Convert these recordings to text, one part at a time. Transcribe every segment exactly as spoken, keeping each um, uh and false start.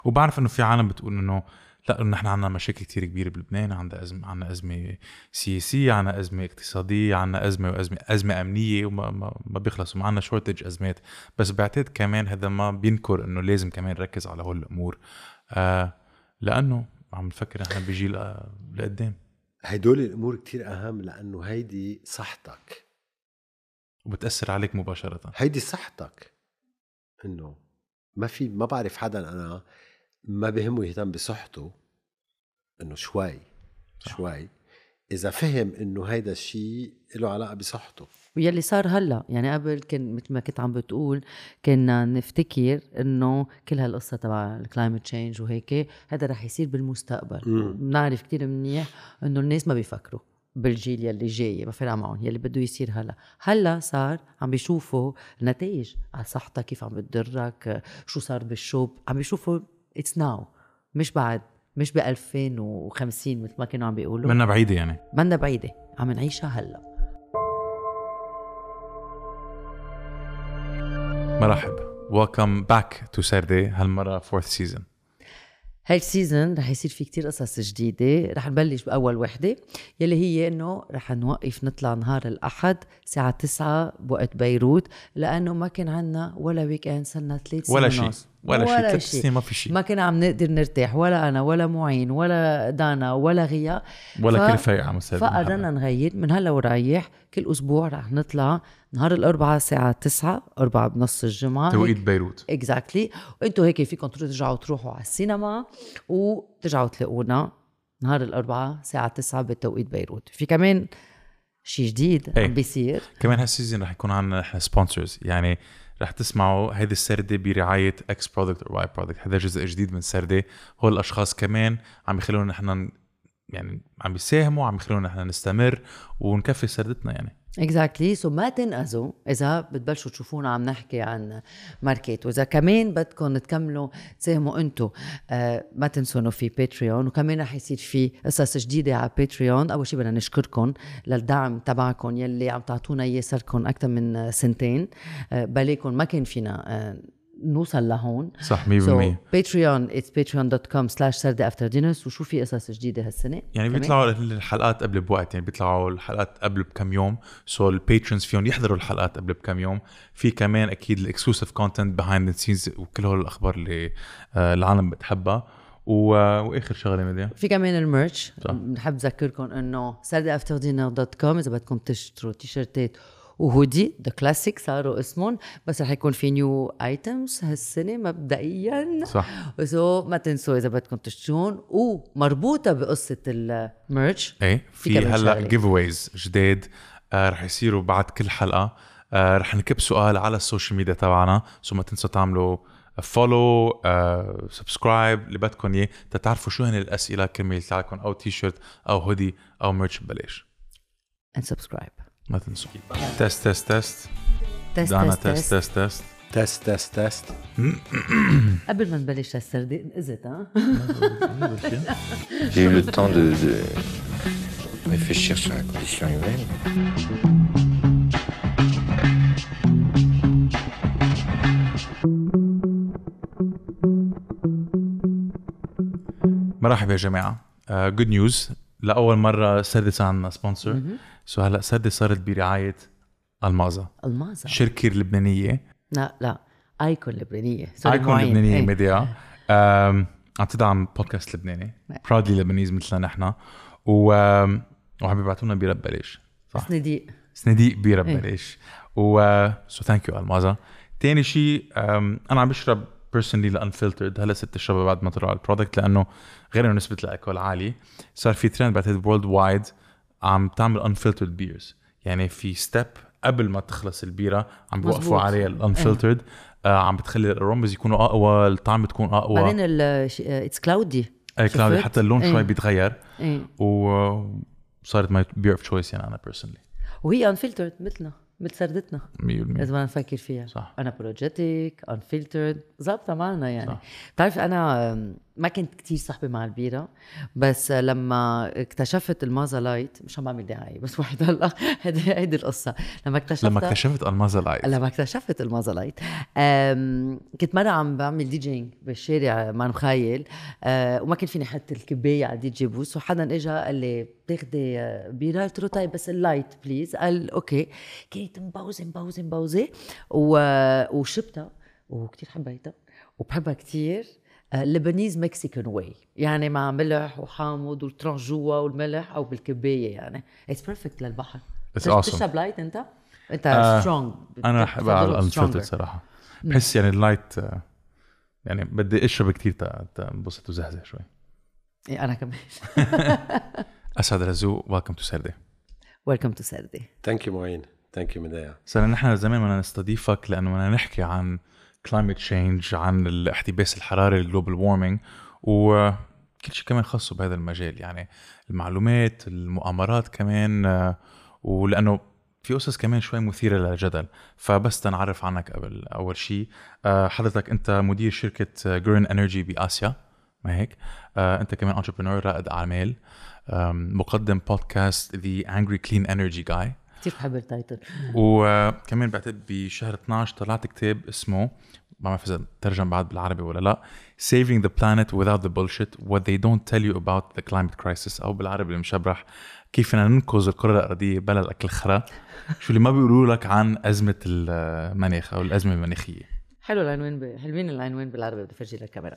وبعرف انه في عالم بتقول انه لا، نحن عنا مشاكل كتير كبيرة بلبنان، عندنا أزمة، عنا أزمة سياسية، عنا أزمة اقتصادية، عنا أزمة وأزمة أزمة أمنية، وما ما, ما بيخلصوا، معنا شورتج أزمات. بس بعتقد كمان هذا ما بينكر إنه لازم كمان نركز على هول الأمور، آه لأنه عم نفكر نحن بجيل آه لقدام. هيدول الأمور كتير أهم، لأنه هيدي صحتك وبتأثر عليك مباشرة. هيدي صحتك، إنه ما في ما بعرف حدا أنا ما بهمه يهتم بصحته، إنه شوي صح. شوي إذا فهم إنه هيدا الشيء له علاقة بصحته. ويلي صار هلا يعني قبل كان مثل ما كنت عم بتقول كنا نفتكر إنه كل هالقصة تبع الكلايمت تشينج وهيك هذا رح يصير بالمستقبل. بنعرف كتير منيح إنه الناس ما بيفكروا بالجيل يلي جاي، ما فرق معهم يلي بده يصير هلا. هلا صار عم بيشوفوا النتائج على صحتك كيف عم بتضرك، شو صار بالشوب، عم بيشوفوا it's now، مش بعد، مش بألفين وخمسين مثل ما كانوا عم بيقولوا. منا بعيدة يعني، منا بعيدة، عم نعيشها هلا. مرحب، welcome back to سردي. هالمرة fourth season. هاي السيزن رح يصير في كتير قصص جديدة. رح نبلش بأول وحدة يلي هي إنه رح نوقف نطلع نهار الأحد ساعة تسعة بوقت بيروت، لأنه ما كان عنا ولا ويكند صرنا ثلاث سنين ولا شيء ولا شيء ثلاث سنين ما في شيء، ما كنا عم نقدر نرتاح، ولا أنا ولا معين ولا دانا ولا غيا ولا ف... كل فايق عم يساعد. فقررنا نغير من هلا ورايح كل أسبوع رح نطلع نهار الأربعاء ساعة تسعة، أربعة بنص الجمعة توقيت بيروت. exactly. وانتوا هيك فيكم ترجعوا تروحوا على السينما وترجعوا تلاقونا نهار الأربعاء ساعة تسعة بتوقيت بيروت. في كمان شيء جديد عم بيصير كمان هالسيزن رح يكون عنا احنا سبونسرز، يعني رح تسمعوا هيدي السردة برعاية X Product or Y Product. هذا جزء جديد من سردة. هو الأشخاص كمان عم يخلونا نحن يعني عم يساهموا، عم يخلونا نحن نستمر ونكفي سردتنا يعني. exactly. so ما تنقذوا إذا بتبلشوا تشوفونا عم نحكي عن ماركت، وإذا كمان بدكم تكملوا تساهموا أنتوا آه ما تنسوا إنه في باتريون، وكمان رح يصير في قصص جديدة على باتريون. أول شيء بدنا نشكركم للدعم تبعكم يلي عم تعطونا إياه صاركم أكثر من سنتين. آه بليكم ما كان فينا آه نوصل لهون صح مية بالمية. so Patreon it's patreon dot com slash Saturday after dinner. وشو في قصص جديدة هالسنة يعني بيطلعوا الحلقات قبل بوقت، يعني بيطلعوا الحلقات قبل بكم يوم، سو الباترونز فيهم يحضروا الحلقات قبل بكم يوم. في كمان اكيد الاكسكلوسيف كونتنت behind the scenes وكل هول الاخبار اللي العالم بتحبها. واخر شغله ميديا في كمان الميرش. بنحب نذكركم انه saturday after dinner dot com اذا بدكم تشتروا تيشرتات وهودي ذا كلاسيك صاروا اسمهم، بس رح يكون في نيو ايتمز هالسنه مبدئيا صح. وسو ما تنسوا اذا بدكم تشترون. ومربوطه بقصه الميرش ايه في هلا جيف اويز جداد آه رح يصيروا بعد كل حلقه. آه رح نكب سؤال على السوشيال ميديا تبعنا، سو ما تنسوا تعملوا فولو آه سبسكرايب اللي بدكم اياه تتعرفوا شو هن الاسئله كرمال تاعكم، او تي شيرت او هودي او ميرش ببلاش. and subscribe ما تنسوا. تست تست تست تست دانا تست تست تست تست تست تست تست قبل ما نبلش السردة نقزت ها. J'ai eu le temps de, de réfléchir sur la condition humaine. مرحبا يا جماعة. جود uh, نيوز، لأول مرة سردة صار عندنا سبونسر. سو هلا سردة صارت برعاية المازا. المازا شركة لبنانية، لا لا ايكون لبنانية ايكون لبنانية ايه. ميديا عم تدعم بودكاست لبناني براودلي لبنانيز مثلنا نحن، وعم بيبعتوا لنا بيرة ببلاش. صنديق صنديق بيرة ببلاش. و سو ثانك يو المازا. تاني شيء انا عم بشرب personally الانفلترد، هلا ست اشربها بعد ما طلع البرودكت، لانه غير انه نسبه الالكول عالي صار في ترند بعتقد وورلد وايد عم تعمل انفلترد بيرز. يعني في ستيب قبل ما تخلص البيره عم بوقفوا عليها الانفلترد آه عم بتخلي الرومز يكونوا اقوى، الطعم تكون اقوى. بعدين اتس كلاودي اي كلاودي حتى اللون ايه. شوي بيتغير ايه. وصارت ماي بير اوف تشويس يعني انا بيرسونلي. وهي انفلترد مثلنا مثل سردتنا مية بالمية لازم نفكر فيها. صح. انا بروجيتيك انفلترد ظابطه معنا يعني. صح. بتعرف انا ما كنت كتير صاحبة مع البيرة، بس لما اكتشفت المازا لايت، مش عم بعمل دعاية بس واحد هلا هيدي هيدي القصة. لما اكتشفت لما اكتشفت المازا لايت لما اكتشفت المازا لايت أم... كنت مرة عم بعمل دي جينج بالشارع مع مخيل، أه... وما كنت فيني حط الكباية على دي جي بوس، وحدا اجا قال لي بتاخدي بيرة؟ قلت له طيب بس اللايت بليز. قال اوكي. كنت مبوزة مبوزة مبوزة و... وشربتها وكتير حبيتها وبحبها كتير. لبنيز مكسيكان واي، يعني مع ملح وحامض والترانش جوا والملح او بالكبايه، يعني اتس بيرفكت للبحر. تشرب لايت انت؟ انت سترونج؟ uh, انا بحب على الانفلترد صراحه. بحس يعني اللايت يعني بدي اشرب كتير تنبسط وزهزه شوي. إيه انا كمان. اسعد رزوق، ويلكم تو سردي. ويلكم تو سردي. ثانك يو معين، ثانك يو مدايا. صار نحن زمان بدنا نستضيفك لانه بدنا نحكي عن climate change، عن الاحتباس الحراري، الجلوبال وارمينج، وكل شيء كمان خاصه بهذا المجال، يعني المعلومات، المؤامرات كمان، ولأنه في قصص كمان شوي مثيرة للجدل. فبس تنعرف عنك قبل أول شيء، حضرتك أنت مدير شركة جرين انرجي بآسيا، ما هيك؟ أنت كمان انتربرنور، رائد أعمال، مقدم بودكاست The Angry Clean Energy Guy. كتير بحب التايتل. وكمان بعتقد بشهر اثناشر طلعت كتاب اسمه، ما بعرف إذا ترجم بعد بالعربي ولا لا، Saving the Planet Without the Bullshit What They Don't Tell You About the Climate Crisis، أو بالعربي المشبرح كيف بدنا ننقذ الكرة الأرضية بلا الأكل الخرا، شو اللي ما بيقولوا لك عن أزمة المناخ أو الأزمة المناخية. حلو العنوان ب... حلوين العنوان بالعربي، بدي أفرجي للكاميرا.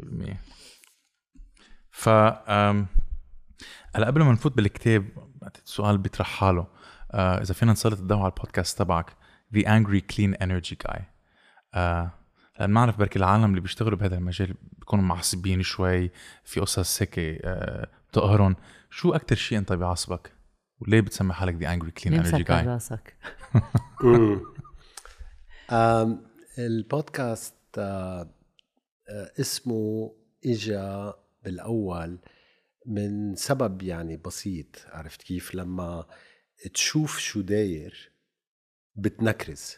ف هلا قبل ما نفوت بالكتاب، السؤال بيطرح حاله، آه إذا فينا نسلط الضوء على البودكاست تبعك The Angry Clean Energy Guy. آه لأن ما أعرف بركي العالم اللي بيشتغلوا بهذا المجال بيكونوا معصبين شوي في قصص هيك آه بتقهرن. شو أكتر شيء أنت بيعصبك وليه بتسمي حالك The Angry Clean Energy Guy؟ راسك. البودكاست آه آه اسمه إجا بالأول من سبب يعني بسيط. عرفت كيف؟ لما تشوف شو داير بتنكرز،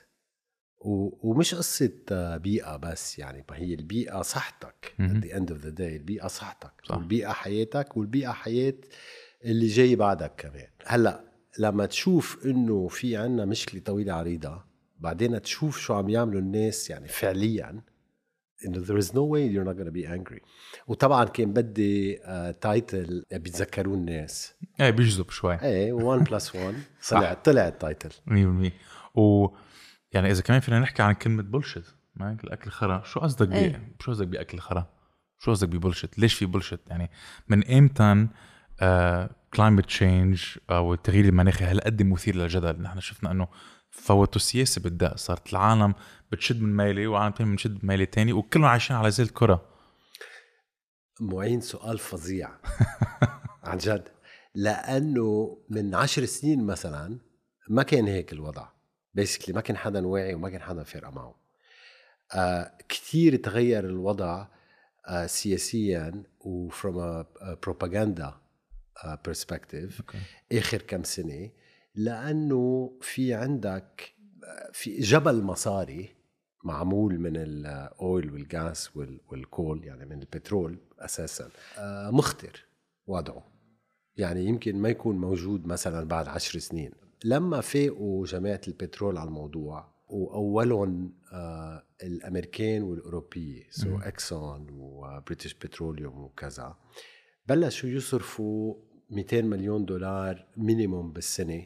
ومش قصة بيئة بس، يعني ما هي البيئة صحتك at the end of the day. البيئة صحتك صح. والبيئة حياتك، والبيئة حياة اللي جاي بعدك كمان. هلأ لما تشوف انه في عنا مشكلة طويلة عريضة، بعدين تشوف شو عم يعملوا الناس يعني فعليا، انه there is no way you're not gonna be angry. وطبعا كان بدي تايتل uh, بيتذكرون الناس، ايه بيجذب شوي، ايه one plus one طلع طلع التايتل مية بالمية. و يعني اذا كمان فينا نحكي عن كلمه بولشيت، ما هيك الاكل خرا، شو قصدك بيه؟ ايه. شو قصدك باكل خرا؟ شو قصدك ببولشيت؟ ليش في بولشيت؟ يعني من امتى كلايمت تشينج او التغيير المناخي هالقد مثير للجدل؟ نحن شفنا انه فوتوا السياسه بالدق، صارت العالم بتشد من ميلي وعالم تاني بتشد من ميلي تاني، وكلهم عايشين على زي الكره. معين سؤال فظيع عن جد، لانه من عشر سنين مثلا ما كان هيك الوضع. بيسكلي ما كان حدا واعي وما كان حدا فارقه معه. آه كتير تغير الوضع آه سياسيا و from a, a propaganda uh, perspective okay. آخر كم سنة، لأنه في عندك في جبل مصاري معمول من الأويل والغاز والكول، يعني من البترول أساسا، آه مخطر وضعه، يعني يمكن ما يكون موجود مثلا بعد عشر سنين. لما فاقوا جماعة البترول على الموضوع، وأولهم آه الأمريكان والأوروبية، سو إكسون وبريتش بتروليوم وكذا، بلشوا يصرفوا مئتين مليون دولار مينيموم بالسنة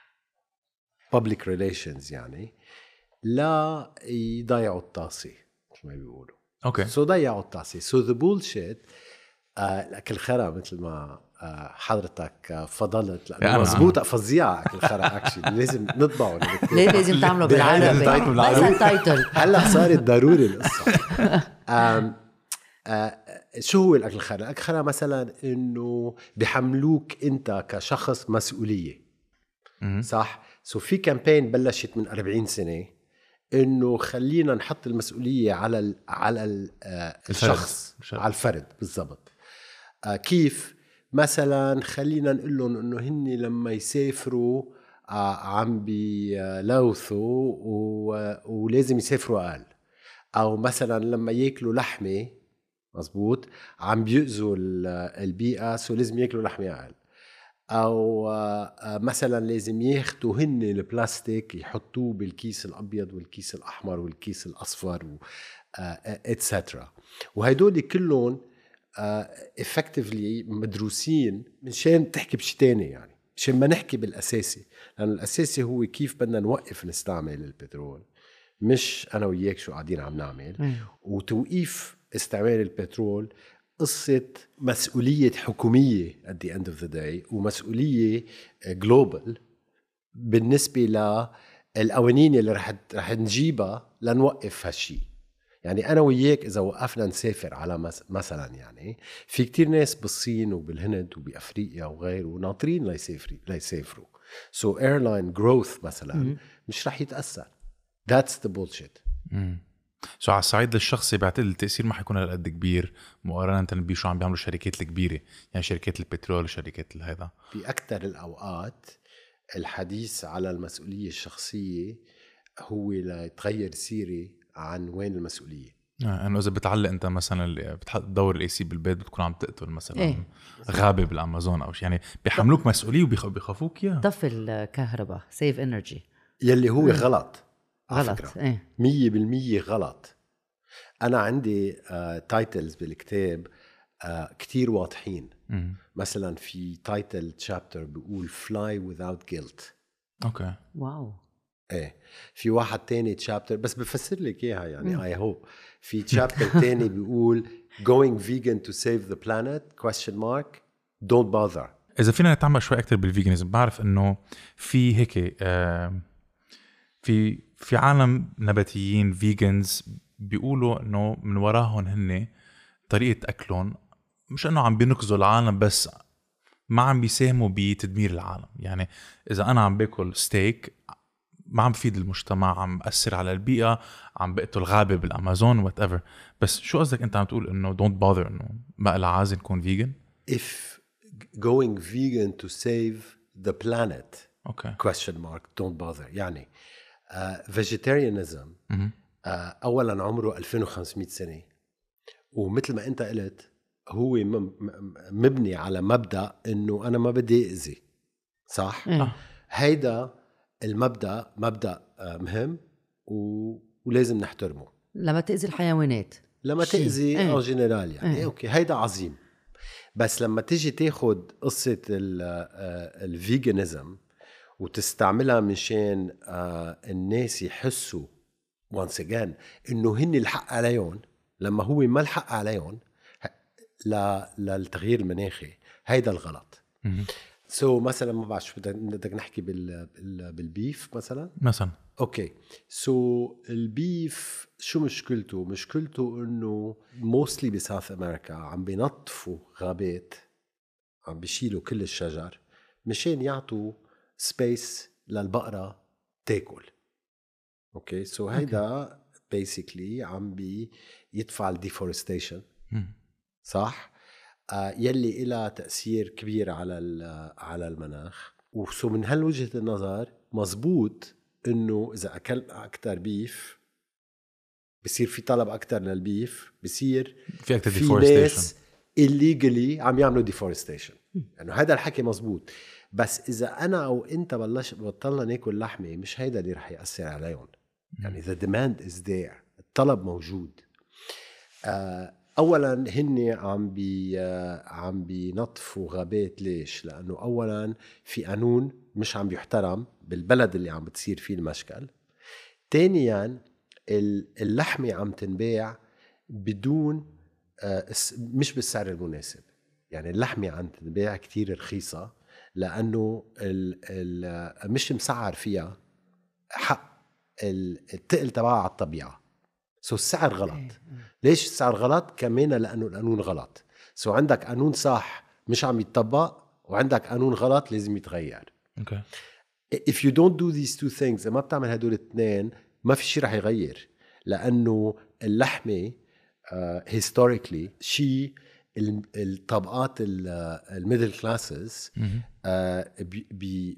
public relations، يعني لا يضيعوا الطاسة مثل ما بيقولوا. اوكي سو ضيعوا الطاسة. سو ذا بولشيت الأكل خرا مثل ما حضرتك فضلت، لأنه مزبوطة فظيعة أكل خرا أكشلي لازم نطبعه. ليه لازم تعمله بالعربي؟ بس التايتل هلا صارت ضروري القصة. آم آه شو هو الأكل الخرا؟ الأكل الخرا مثلا إنه بيحملوك أنت كشخص مسؤولية، صح؟ سو في كامبين بلشت من أربعين سنة إنه خلينا نحط المسؤولية على ال على ال آه الشخص، على الفرد بالضبط. آه كيف؟ مثلا خلينا نقول لهم إنه هن لما يسافروا آه عم بيلوثوا ولازم يسافروا أقل، أو مثلا لما يأكلوا لحمة مزبوط، عم بيؤذوا البيئة، سو لازم ياكلوا لحمة أقل. أو مثلا لازم ياخدوا هن البلاستيك يحطوه بالكيس الأبيض والكيس الأحمر والكيس الأصفر و اتسترا. وهيدول كلهم effectively مدروسين منشان تحكي بشي تاني، يعني مشان ما نحكي بالأساسي، لأن الأساسي هو كيف بدنا نوقف نستعمل البترول، مش أنا وياك شو قاعدين عم نعمل. وتوقيف استعمال البترول قصة مسؤولية حكومية at the end of the day، ومسؤولية global بالنسبة للقوانين اللي رح رح نجيبها لنوقف هالشي. يعني أنا وياك إذا وقفنا نسافر على مثلا، يعني في كتير ناس بالصين وبالهند وبأفريقيا وغيره وناطرين ليسافروا ليسافروا so airline growth مثلا م- مش رح يتأثر. that's the bullshit. سو على الصعيد الشخصي بعتقد التأثير ما حيكون هالقد كبير مقارنة بشو عم بيعملوا الشركات الكبيرة، يعني شركات البترول شركات هذا. في أكتر الأوقات الحديث على المسؤولية الشخصية هو لتغير سيري عن وين المسؤولية. آه انه اذا بتعلق انت مثلا بتحط دور الاي سي بالبيت بتكون عم تقتل مثلا إيه؟ غابه بالامازون او شيء، يعني بيحملوك مسؤوليه وبيخافوك اياه. طفي الكهرباء سيف انرجي يلي هو غلط غلط ايه مية بالمية غلط. انا عندي تايتلز uh, بالكتاب uh, كتير واضحين. م- مثلا في تايتل تشابتر بيقول fly without guilt. اوكي واو. ايه في واحد تاني تشابتر بس بفسر لك اياها يعني اي هوب. في تشابتر تاني بيقول going vegan to save the planet question mark don't bother. اذا فينا نتعمق شوي اكتر بالفيجانيزم، بعرف انه في هيك آه في في عالم نباتيين فيجنز بيقولوا انه من وراهم هن طريقه اكلهم مش انه عم بينقذوا العالم بس ما عم بيساهموا بتدمير العالم. يعني اذا انا عم باكل ستيك ما عم بفيد المجتمع، عم بأثر على البيئة، عم بقتل غابة بالأمازون whatever. بس شو قصدك أنت عم تقول إنه don't bother إنه ما إلا عازل نكون vegan؟ If going vegan to save the planet okay. question mark don't bother. يعني uh, vegetarianism mm-hmm. uh, أولا عمره ألفين وخمسمية سنة، ومثل ما أنت قلت هو مبني على مبدأ إنه أنا ما بدي أذي، صح؟ mm. هيدا المبدأ مبدأ مهم و... ولازم نحترمه. لما تأذي الحيوانات، لما تأذي أو جنرال يعني ايه. أوكي هيدا عظيم. بس لما تيجي تاخد قصة الفيجانيزم وتستعملها منشان الناس يحسوا once again إنه هن الحق عليهم لما هو ما الحق عليهم للتغيير المناخي، هيدا الغلط. سو so, مثلا ما بعرف شو بدك نحكي بال بالبيف مثلا مثلا اوكي سو so, البيف شو مشكلته؟ مشكلته انه موستلي بساوث امريكا عم بينظفوا غابات، عم بيشيلوا كل الشجر مشان يعطوا سبيس للبقرة تاكل. اوكي سو so, هيدا بيسيكلي عم بيدفع الديفورستيشن، صح؟ يلي إلها تأثير كبير على على المناخ. وسو من هالوجهة النظر مزبوط إنه إذا أكلنا أكتر بيف بصير في طلب أكتر للبيف، بصير في أكتر في ناس illegally عم يعملوا deforestation. يعني هذا الحكي مزبوط. بس إذا أنا أو أنت بلش بطلنا ناكل لحمة مش هيدا اللي رح يأثر عليهم. يعني the demand is there، الطلب موجود. آه اولا هن عم بي عم بينظفوا غابات. ليش؟ لانه اولا في قانون مش عم بيحترم بالبلد اللي عم بتصير فيه المشكل. ثانيا اللحمه عم تنباع بدون مش بالسعر المناسب. يعني اللحمه عم تنباع كتير رخيصه لانه ال ال مش مسعر فيها حق التقل تبعها على الطبيعه. سو السعر غلط. ليش السعر غلط؟ كمان لأنه القانون غلط. سو عندك قانون صح مش عم يتطبق، وعندك قانون غلط لازم يتغير. okay. If you don't do these two things، ما بتعمل هدول الاثنين ما في شيء رح يغير. لأنه اللحمة uh, historically شيء الطبقات الميدل كلاسز بي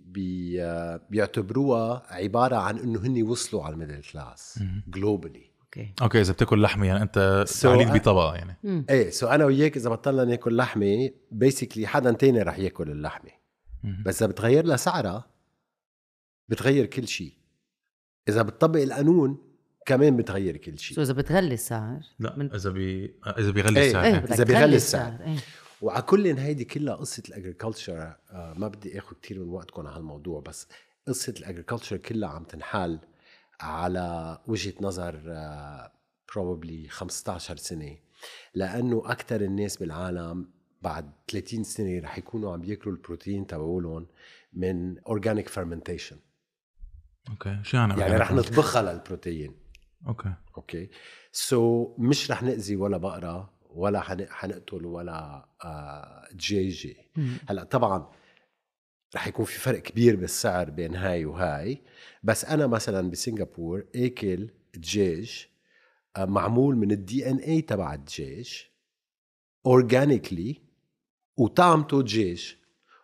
بي بيعتبروها عبارة عن إنه هني وصلوا على الميدل كلاس globally. اوكي اوكي اذا بتاكل لحمه يعني انت So تعليق I- بطبقه يعني. مم. ايه سو انا وياك اذا بطلنا ناكل لحمه بيسكلي حدا تاني رح ياكل اللحمه. مم. بس اذا بتغير لها سعرها بتغير كل شيء. اذا بتطبق القانون كمان بتغير كل شيء. سو اذا بتغلي السعر لا من... اذا بي اذا بيغلي إيه. السعر ايه إيه. بدك إذا تغلي بيغلي السعر السعر. ايه. وعلى كل هيدي كلها قصه الاجريكلتشر. آه ما بدي اخذ كتير من وقتكم على هالموضوع بس قصه الاجريكلتشر كلها عم تنحل على وجهه نظر آه probably خمسة عشر سنه لانه اكثر الناس بالعالم بعد ثلاثين سنه رح يكونوا عم بياكلوا البروتين تبعولهم من اورجانيك فيرمنتيشن. اوكي شو يعني يعني رح نطبخها للبروتين. اوكي اوكي سو so, مش رح نأذي ولا بقرة ولا حن... حنقتل ولا آه دجاجة. هلا طبعا رح يكون في فرق كبير بالسعر بين هاي وهاي بس انا مثلا بسنغافور اكل دجاج آه معمول من الدي ان اي تبع الدجاج اورجانيكلي وطعمته دجاج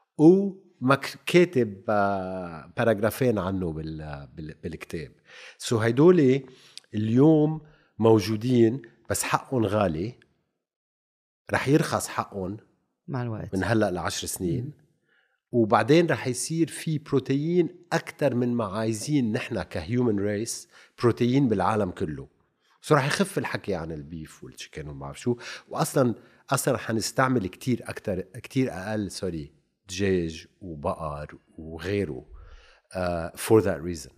وكاتب آه باراجرافين عنه بال... بال... بالكتاب. سو so, هيدولي اليوم موجودين بس حقهم غالي رح يرخص حقهم مع الوقت من هلأ لعشر سنين. م. وبعدين رح يصير في بروتين أكتر من ما عايزين نحن كهيومن ريس بروتين بالعالم كله. سو رح يخف الحكي عن البيف والشيكن وما بعرف شو وأصلا أصلا حنستعمل كتير أكتر كتير أقل سوري دجاج وبقر وغيره uh, for that reason.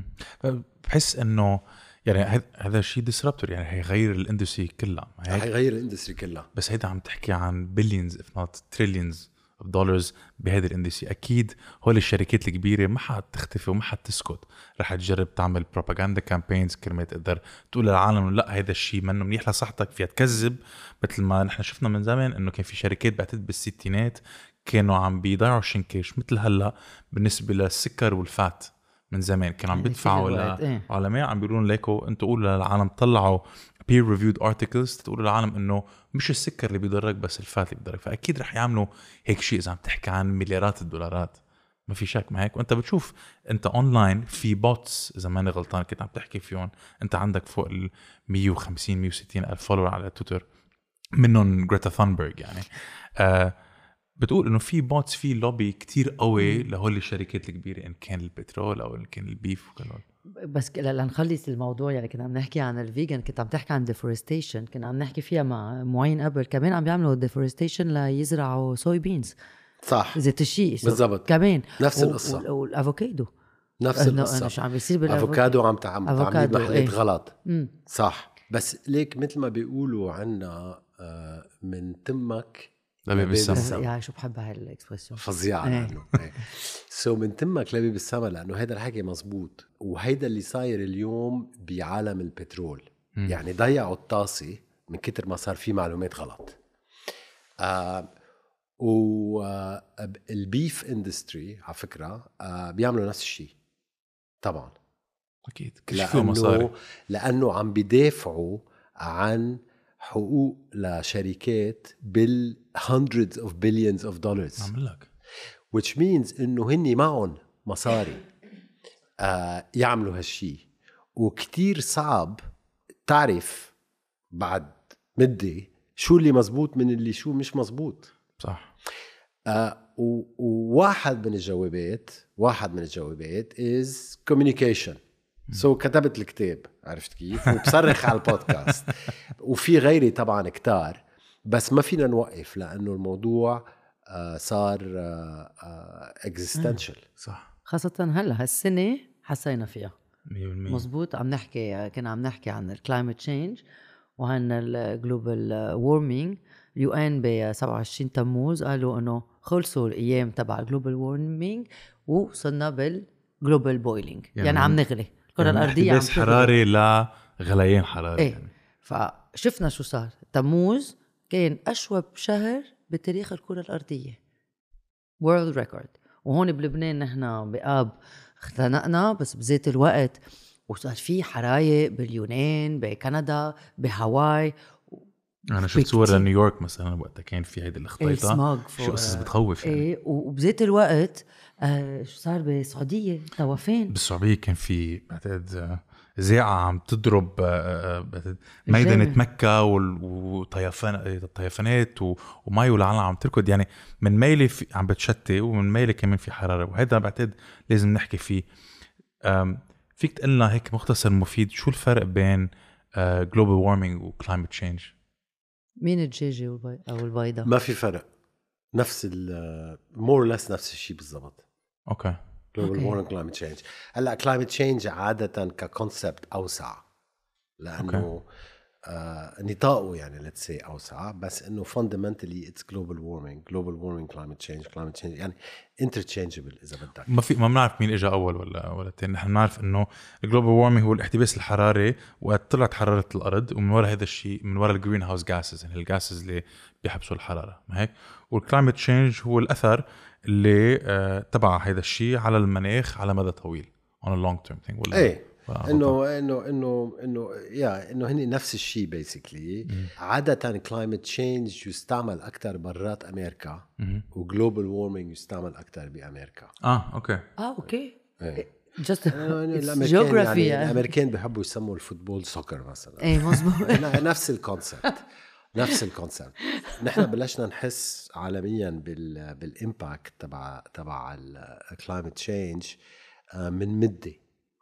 بحس إنه يعني هذا الشيء ديسربتور يعني هيغير الاندستري كلها. هيغير الاندستري كلها. بس هيدا عم تحكي عن بليونز if not trillions of dollars بهذا الاندستري. اكيد هول الشركات الكبيره ما حتختفي وما حتسكت. رح تجرب تعمل بروباغندا كامبينز كرمال تقدر تقول للعالم لا هذا الشيء منه منيح لصحتك فيها تكذب. مثل ما نحن شفنا من زمان انه كان في شركات بعتقد بالستينات كانوا عم بيضيعوا شنكيش مثل هلا بالنسبه للسكر والفات. من زمان كانوا عم بيدفعوا لعلماء عم بيقولون ليكو انتوا قولوا للعالم طلعوا peer reviewed articles تقولوا للعالم انه مش السكر اللي بيضرك بس الفات اللي بيضرك. فاكيد رح يعملوا هيك شيء اذا عم تحكي عن مليارات الدولارات ما في شك. ما هيك وانت بتشوف انت اونلاين في بوتس اذا ماني غلطان كنت عم تحكي فيهم انت عندك فوق ال مية وخمسين مية وستين الف فولور على تويتر منهم غريتا ثانبرغ يعني آه بتقول انه في بوتس في لوبي كتير قوي لهول الشركات الكبيره ان كان البترول او ان كان البيف وكله. بس لنخلص الموضوع يعني كنا عم نحكي عن الفيجن كنت عم تحكي عن ديفورستيشن كنا عم نحكي فيها مع معين قبل كمان عم بيعملوا ديفورستيشن ليزرعوا صوي بينز صح زيت الشيء بالضبط كمان نفس القصه والافوكادو نفس القصه شو عم بيصير بالافوكادو عم تعمل محلات ايه؟ غلط مم. صح بس ليك مثل ما بيقولوا عنا من تمك لبيب السما. يا شو بحب هاي الاكسبريشن فظيعه لانه سو من تمك لبيب السما لانه هيدا الحكي مزبوط وهيدا اللي صاير اليوم بعالم البترول. م. يعني ضيعوا الطاسه من كتر ما صار في معلومات غلط. آه والبيف اندستري على فكره آه بيعملوا نفس الشيء طبعا اكيد كل شيء فيه مصاري لانه عم بيدافعوا عن حقوق لشركات بال hundreds of billions of dollars عمل لك which means انه هني معهم مصاري آه يعملوا هالشي وكتير صعب تعرف بعد مدة شو اللي مزبوط من اللي شو مش مزبوط. صح. آه وواحد من الجوابات واحد من الجوابات is communication. سو so, كتبت الكتاب عرفت كيف وبصرخ على البودكاست وفي غيري طبعا كتار بس ما فينا نوقف لأنه الموضوع آه صار آه آه existential. صح خاصة هلا هالسنة حسينا فيها مية بالمية مزبوط. عم نحكي كنا عم نحكي عن الكلايمت تشينج وعن الجلوبال وورمينج. اليو ان ب سبعة وعشرين تموز قالوا انه خلصوا الايام تبع الجلوبال وورمينج وصلنا بالجلوبال بويلينج يعني, يعني عم نغلي الكرة يعني الأرضية بس حراري لا غليان حراري ايه يعني. فشفنا شو صار. تموز كان أشوب شهر بتاريخ الكرة الأرضية world record. وهون بلبنان نحن بآب اختنقنا بس بذات الوقت وصار في حرايق باليونان بكندا بهاواي. أنا شفت صور لنيويورك مثلا وقتها كان في هيدا الاختيطة شو قصص بتخوف يعني. ايه وبذات الوقت آه شو صار بالسعودية توفين بالسعودية كان في بعتقد زيعة عم تضرب ميدنة مكة والطيفانات وماي والعالم عم تركض، يعني من ميلة عم بتشتي ومن ميلة كمان في حرارة، وهذا بعتقد لازم نحكي فيه. فيك تقلنا هيك مختصر مفيد شو الفرق بين global warming و climate change؟ مين الدجاجة أو البيضة؟ ما في فرق، نفس ال more or less نفس الشيء بالضبط. اوكي. global warming climate change. هلا climate change عادة ككونسبت أوسع لأنه آه نطاقه يعني let's say أوسع، بس إنه fundamentally it's global warming global warming climate change climate change يعني interchangeable إذا بدك. ما في ما بنعرف مين إجا أول ولا ولا الثاني. نحن نعرف إنه global warming هو الاحتباس الحراري وقت طلعت حرارة الأرض، ومن وراء هذا الشيء من وراء الجرين هاوس جاسز يعني الجاسز اللي بيحبسوا الحرارة، ما هيك؟ والكلايمت تشينج هو الأثر اللي آه تبع هذا الشيء على المناخ على مدى طويل on a long term thing. ولا ايه انه انه انه انه يا انه هني نفس الشيء بيسكلي. عاده كلايمت تشينج يستعمل اكثر برات امريكا وجلوبال وورمينج يستعمل اكثر بامريكا. اه اوكي اه اوكي ايه. just الامريكان يعني الامريكان بيحبوا يسموا الفوتبول سوكر مثلا. ايه مزبوط. نفس الكونسبت نفس الكونسبت. نحن بلشنا نحس عالميا بال بالامباكت تبع تبع الكلايمت تشينج من مده،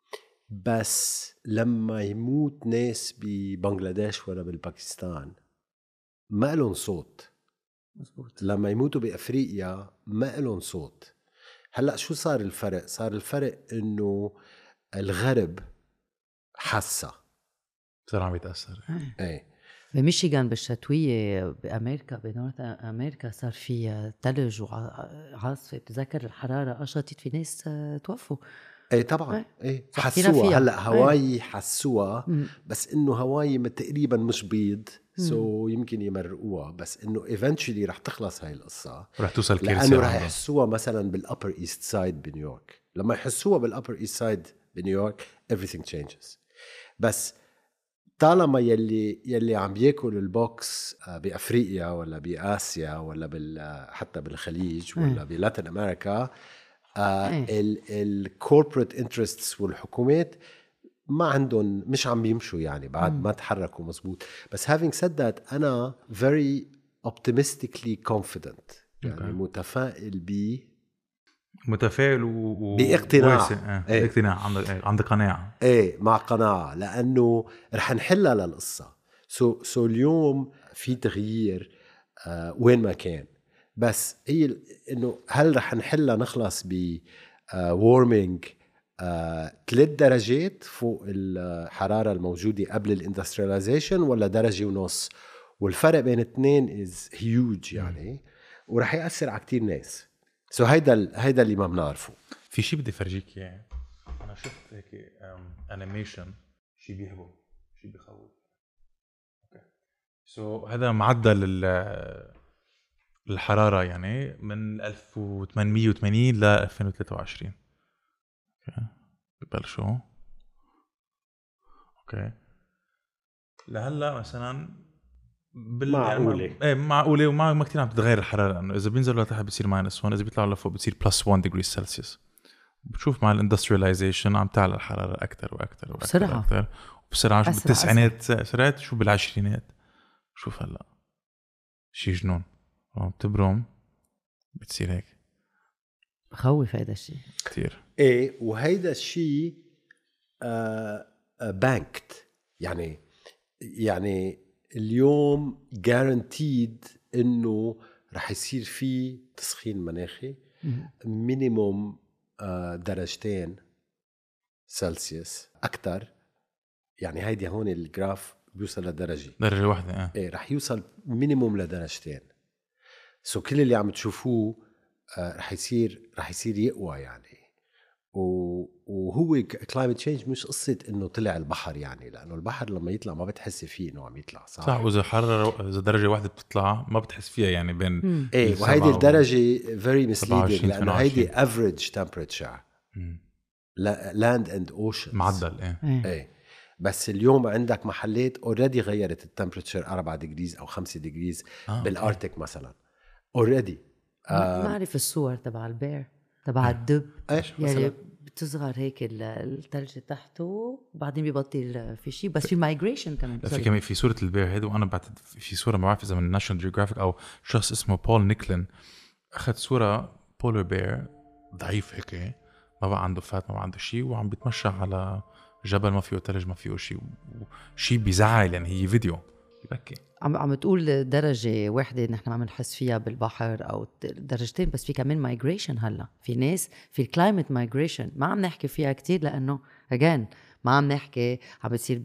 بس لما يموت ناس ببنغلاديش ولا بالباكستان ما لهم صوت. مزبوط. لما يموتوا بأفريقيا ما لهم صوت. هلأ شو صار الفرق؟ صار الفرق إنه الغرب حسا صار عم يتأثر. ايه. بميشيغان بالشتوية بأمريكا بنورث أمريكا صار في ثلج وعاصفة، بتذكر الحرارة قشطت في ناس توفوا. ايه طبعا. ايه حسوها. هلا هواي ايه. حسوها بس انه هواي تقريبا مش بيض سو so يمكن يمرقوها، بس انه eventually رح تخلص هاي القصة ورح توصل كيل لانه رح يحسوها مثلا بالupper east side بنيويورك. لما يحسوها بالupper east side بنيويورك everything changes. بس طالما يلي يلي عم بياكل البوكس بافريقيا ولا باسيا ولا بال حتى بالخليج ولا بلاتين امريكا الكوربريت انترستس والحكومات ما عندهم، مش عم بيمشوا يعني بعد ما تحركوا مزبوط. بس having said that أنا very optimistically confident يعني okay. متفائل ب متفائل و... باقتناع اه. ايه. باقتناع عند عند قناعة ايه مع قناعة لأنه رح نحلها للقصة. سو so, سو so اليوم في تغيير آه وين ما كان، بس هي انه هل رح نحلها نخلص ب وورمينج ثلاث درجات فوق الحرارة الموجودة قبل الاندسترياليزيشن ولا درجة ونص؟ والفرق بين اثنين is huge يعني ورح يأثر على كتير ناس. سو so هيدا هيدا اللي ما بنعرفه. في شيء بدي فرجيك اياه. انا شفت هيك انيميشن شيء بيهبل شيء بخوف. اوكي سو so هذا معدل الحرارة يعني من ألف وثمانمية وثمانين ل ألفين وثلاثة وعشرين. اوكي ببلشوا. اوكي لهلا مثلا بال... معقولة يعني ايه معقولة وما ما كتير عم تتغير الحرارة، لأنه إذا بينزلوا لتحت بصير ماينس واحد، إذا بيطلعوا لفوق بصير بلس واحد ديجري سلسيوس. بتشوف مع الاندسترياليزيشن عم تعلى الحرارة أكتر وأكتر وأكتر بسرعة أكتر وبسرعة. شو بالتسعينات سرعت، شو بالعشرينات، شوف هلا شي جنون بتبرم بتصير هيك. بخوف هيدا الشيء كتير. ايه وهيدا الشيء آه آه بانكت يعني يعني اليوم guaranteed انه رح يصير في تسخين مناخي مينيموم آه درجتين سلسيوس اكتر. يعني هيدي هون الجراف بيوصل لدرجة درجة واحدة اه. ايه رح يوصل مينيموم لدرجتين. سو كل اللي عم تشوفوه آه رح يصير رح يصير يقوى يعني. وهو كلايمت تشينج مش قصة انه طلع البحر يعني، لانه البحر لما يطلع ما بتحس فيه انه عم يطلع صح. صح واذا حرارة اذا درجة واحدة بتطلع ما بتحس فيها يعني بين ايه. وهيدي الدرجة very misleading لانه هيدي average temperature land and ocean معدل ايه. ايه بس اليوم عندك محلات اوريدي غيرت التمبريتشر أربعة ديجريز او خمسة ديجريز آه بالارتيك okay. مثلا اوريدي آه نعرف الصور تبع البير تبع الدب ايش يعني بتصغر هيك الثلج تحته وبعدين بيبطل في شيء. بس في مايجريشن كمان. في كمان في صورة البير هيد، وأنا بعتقد في صورة ما بعرف إذا من ناشونال جيوغرافيك أو شخص اسمه بول نيكلين أخذ صورة بولر بير ضعيف هيك، ما بقى عنده فات ما بقى عنده شيء، وعم بيتمشى على جبل ما فيه ثلج ما فيه شيء، وشيء بيزعل يعني. هي فيديو يبكي. عم عم تقول درجة واحدة نحن عم نحس فيها بالبحر أو درجتين، بس في كمان مايجريشن. هلا في ناس في الكلايمت مايجريشن ما عم نحكي فيها كتير، لأنه أجان ما عم نحكي عم بتصير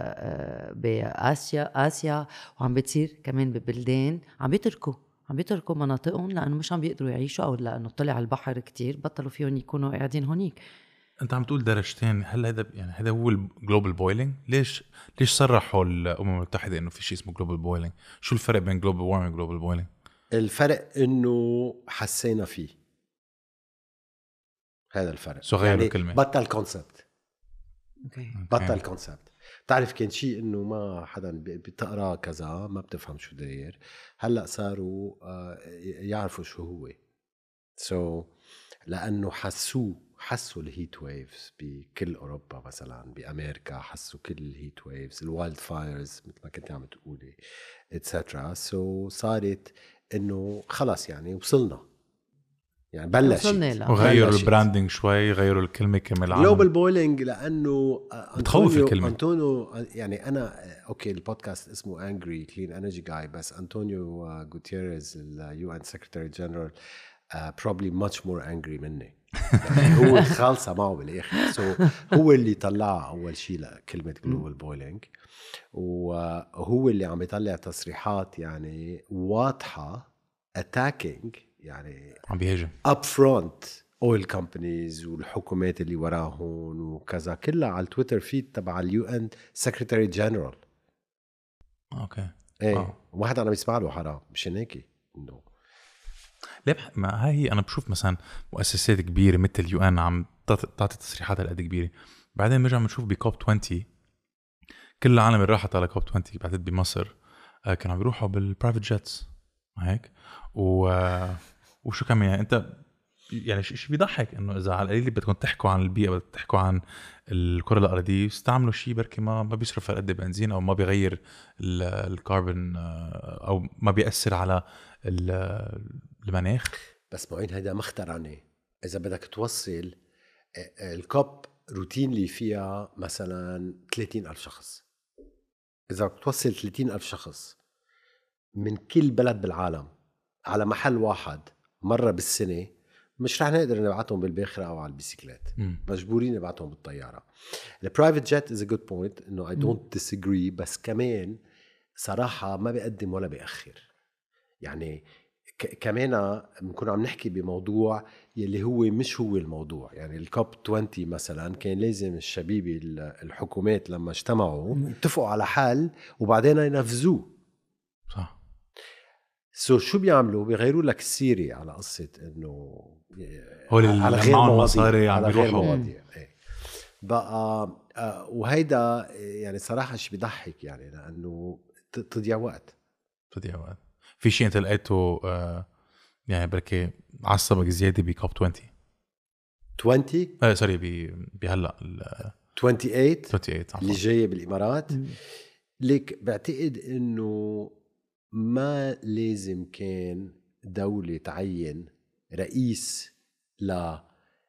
بآسيا آسيا وعم بتصير كمان ببلدان عم بيتركوا عم بيتركوا مناطقهم لأنه مش عم بيقدروا يعيشوا، أو لأنه طلع البحر كتير بطلوا فيهم يكونوا قاعدين هونيك. انت عم تقول درجتين، هل هذا يعني هذا هو الجلوبال بويلينج؟ ليش ليش صرحوا الامم المتحده انه في شيء اسمه جلوبال بويلينج؟ شو الفرق بين جلوبال وارمينج وجلوبال بويلينج؟ الفرق انه حسينا فيه، هذا الفرق. سو غير يعني الكلمه، بطل كونسبت. اوكي بطل كونسبت. بتعرف كان شيء انه ما حدا بتقرا كذا ما بتفهم شو داير، هلا صاروا يعرفوا شو هو. سو so, لانه حسوه حسوا الهيت ويفز بكل أوروبا، مثلا بأمريكا حسوا كل الهيت ويفز، الوايلد فايرز مثل ما كنت عم تقولي اتسترا. سو صارت إنه خلاص يعني وصلنا، يعني بلشت. وغيروا البراندنج شوي، غيروا الكلمة كمان. جلوبال بويلينج لأنه بتخوف الكلمة. أنطونيو يعني أنا أوكي البودكاست اسمه أنجري كلين إنرجي جاي، بس أنطونيو غوتيريز اليو إن سكرتاري جنرال probably much more angry مني. يعني هو خالصة معه بالآخر. so هو اللي طلع أول شيء لكلمة global boiling، وهو اللي عم يطلع تصريحات يعني واضحة attacking، يعني عم بيهاجم up front oil companies والحكومات اللي وراهن وكذا، كلها على التويتر فيد تبع اليو ان سكرتاري جنرال. اوكي ايه وما حدا عم يسمع له حرام، مش هيك انه ليه. ما هي انا بشوف مثلا مؤسسات كبيره مثل اليو ان عم تعطي تصريحات هالقد كبيره، بعدين بنرجع بنشوف بكوب عشرين كل العالم اللي راحت على كوب عشرين بعدين بمصر كانوا عم بيروحوا بالبرايفت جيتس هيك و... وشو كمان يعني. انت يعني شيء بيضحك انه اذا على القليل بدكم تحكوا عن البيئه، بدكم تحكوا عن الكره الارضيه، استعملوا شيء بركي ما ما بيصرف قد بنزين او ما بيغير الكربون او ما بيأثر على المناخ. بس معين هيدا مخترعني. إذا بدك توصل الكوب روتين اللي فيها مثلا ثلاثين ألف شخص، إذا بتوصل ثلاثين ألف شخص من كل بلد بالعالم على محل واحد مرة بالسنة، مش رح نقدر نبعتهم بالباخرة أو على البيسيكلات، مجبورين نبعتهم بالطيارة. البرايفت جيت is a good point، إنه I don't disagree، بس كمان صراحة ما بيقدم ولا بيأخر. يعني كمان بنكون عم نحكي بموضوع يلي هو مش هو الموضوع. يعني الكوب عشرين مثلا كان لازم الشبيبي الحكومات لما اجتمعوا اتفقوا على حل وبعدين ينفذوه. صح. سو so شو بيعملوا؟ بيغيروا لك السيري على قصة انه على غير مواضيع، على غير مواضيع. ايه بقى آه وهيدا يعني صراحة شي بيضحك، يعني لأنه تضيع وقت تضيع وقت. في شيء انت لقيته آه يعني بركي عصبك زياده بكوب عشرين عشرين اه سوري بهلا ثمانية وعشرين ثمانية وعشرين اللي جايه بالامارات. ليك بعتقد انه ما لازم كان دولة تعين رئيس ل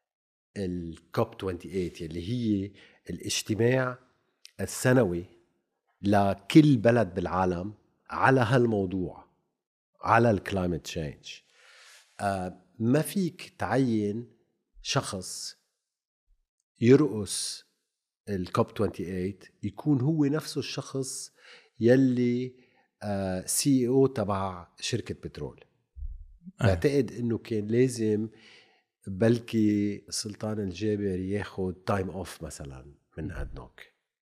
الكوب ثمانية وعشرين اللي هي الاجتماع السنوي لكل بلد بالعالم على هالموضوع، على الكلايمت تشينج. آه ما فيك تعين شخص يرقص الكوب ثمانية وعشرين يكون هو نفسه الشخص يلي آه سي اي او تبع شركة بترول. بعتقد انه كان لازم بلكي سلطان الجابر ياخد تايم اوف مثلا من ادنوك،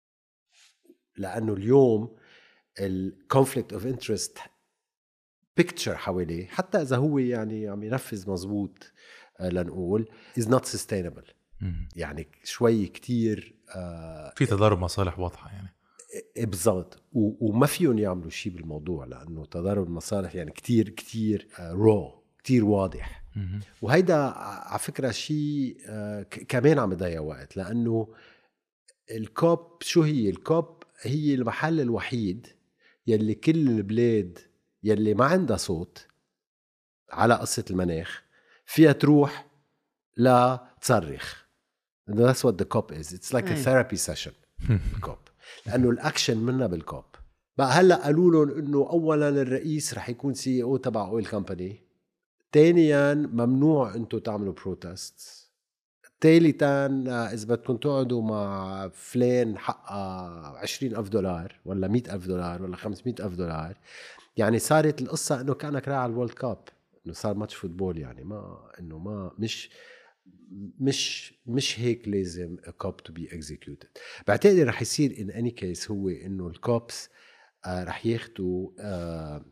لانه اليوم الكونفليكت اوف انترست بيكتشر حواليه، حتى اذا هو يعني عم ينفذ مزبوط آه لنقول is not sustainable. يعني شوي كتير آه في تضارب مصالح واضحة يعني. بالضبط. وما فيهم يعملوا شيء بالموضوع، لانه تضارب المصالح يعني كتير كتير آه رو كتير واضح. وهيدا على فكرة شيء كمان عم يضيع وقت، لأنه الكوب شو هي؟ الكوب هي المحل الوحيد يلي كل البلاد يلي ما عندها صوت على قصة المناخ فيها تروح لا تصرخ. That's what the COP is. It's like a therapy session. الكوب لأنه الأكشن منها بالكوب. بقى هلأ قالوا لهم إنه أولاً الرئيس رح يكون سي او تبع أويل كمباني، ثانياً ممنوع أنتوا تعملوا بروتست، ثالثاً إذا بدكم تقعدوا مع فلان حقها عشرين ألف دولار ولا مئة ألف دولار ولا خمسمئة ألف دولار. يعني صارت القصة إنه كأنك رايح على الورلد كاب، إنه صار ماتش فوتبول. يعني ما إنه ما مش مش مش هيك لازم a cop to be executed. بعتقد رح يصير in any case هو إنه الكوبس آه رح ياخدوا آه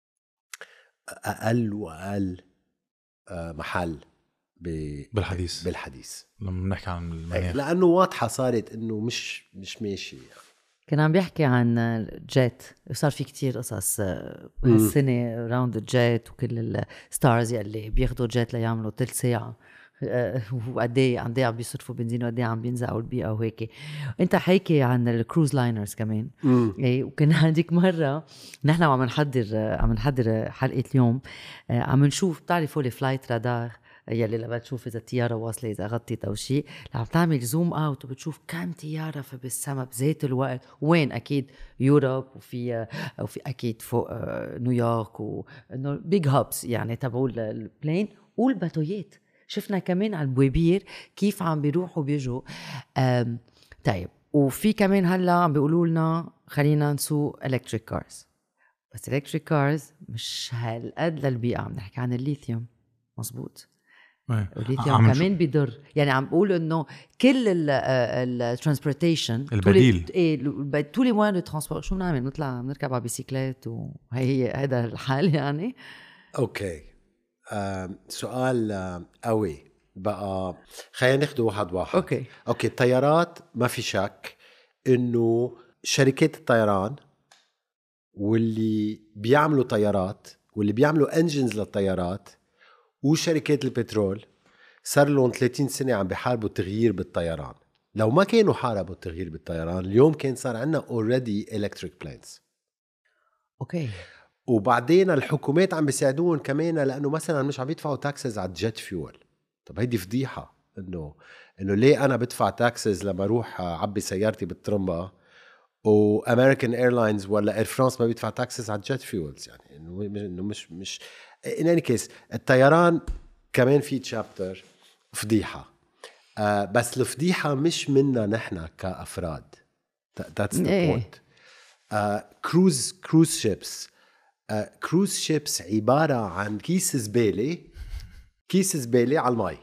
أقل وأقل آه محل بالحديث بالحديث لما نحكي عن المناخ، لأنه واضحة صارت إنه مش مش ماشي. يعني كان عم بيحكي عن الجيت، صار في كتير قصص هالسنة راوند الجيت وكل الستارز اللي بياخدوا جيت ليعملوا تلت ساعة وقديه قديه عم بيصرفوا بنزين وقديه عم بينزعوا البيئة وهيك. انت حكي عن الكروز لاينرز كمان. ايه وكنا هذيك مرة نحن عم نحضر عم نحضر حلقة اليوم عم نشوف، بتعرفوا الفلايت رادار يلي لما تشوف إذا الطيارة واصلة إذا غطت أو شيء، عم تعمل زوم أوت وبتشوف كم طيارة في بالسما بذات الوقت. وين؟ أكيد يوروب وفي وفي أكيد فوق نيويورك وإنه بيج هابس يعني تبعوا البلين والباتويات. شفنا كمان على البوابير كيف عم بيروحوا بيجوا. طيب وفي كمان هلا عم بيقولوا لنا خلينا نسوق إلكتريك كارز، بس إلكتريك كارز مش هالقد للبيئة. عم نحكي عن الليثيوم، مظبوط. الليثيوم كمان بيضر. يعني عم بقول انه كل الترانسبورتيشن البديل ايه طول الموان الترانسبورت شو بنعمل؟ نطلع نركب على بيسيكلات وهي هي هذا الحال يعني. اوكي آه، سؤال آه، قوي بقى. خلينا ناخده واحد واحد. اوكي اوكي الطيارات ما في شك انه شركات الطيران واللي بيعملوا طيارات واللي بيعملوا انجنز للطيارات وشركات البترول صار لهم ثلاثين سنة عم بيحاربوا التغيير بالطيران. لو ما كانوا حاربوا التغيير بالطيران اليوم كان صار عنا already electric planes. اوكي وبعدين الحكومات عم بيساعدون كمان، لأنه مثلا مش عم يدفعوا تاكسز على الجيت فيول. طب هيدي فضيحة إنه إنه ليه أنا بدفع تاكسز لما أروح عبي سيارتي بالترمبة وأمريكان إيرلاينز ولا إير فرانس ما بيدفع تاكسز على الجيت فيولز؟ يعني إنه إنه مش مش in any case الطيران كمان في تشابتر فضيحة. آه بس الفضيحة مش منا نحن كأفراد. that's the point. كروز كروز شيبس كروز شيبس عبارة عن كيس زبالة كيس زبالة على الماء.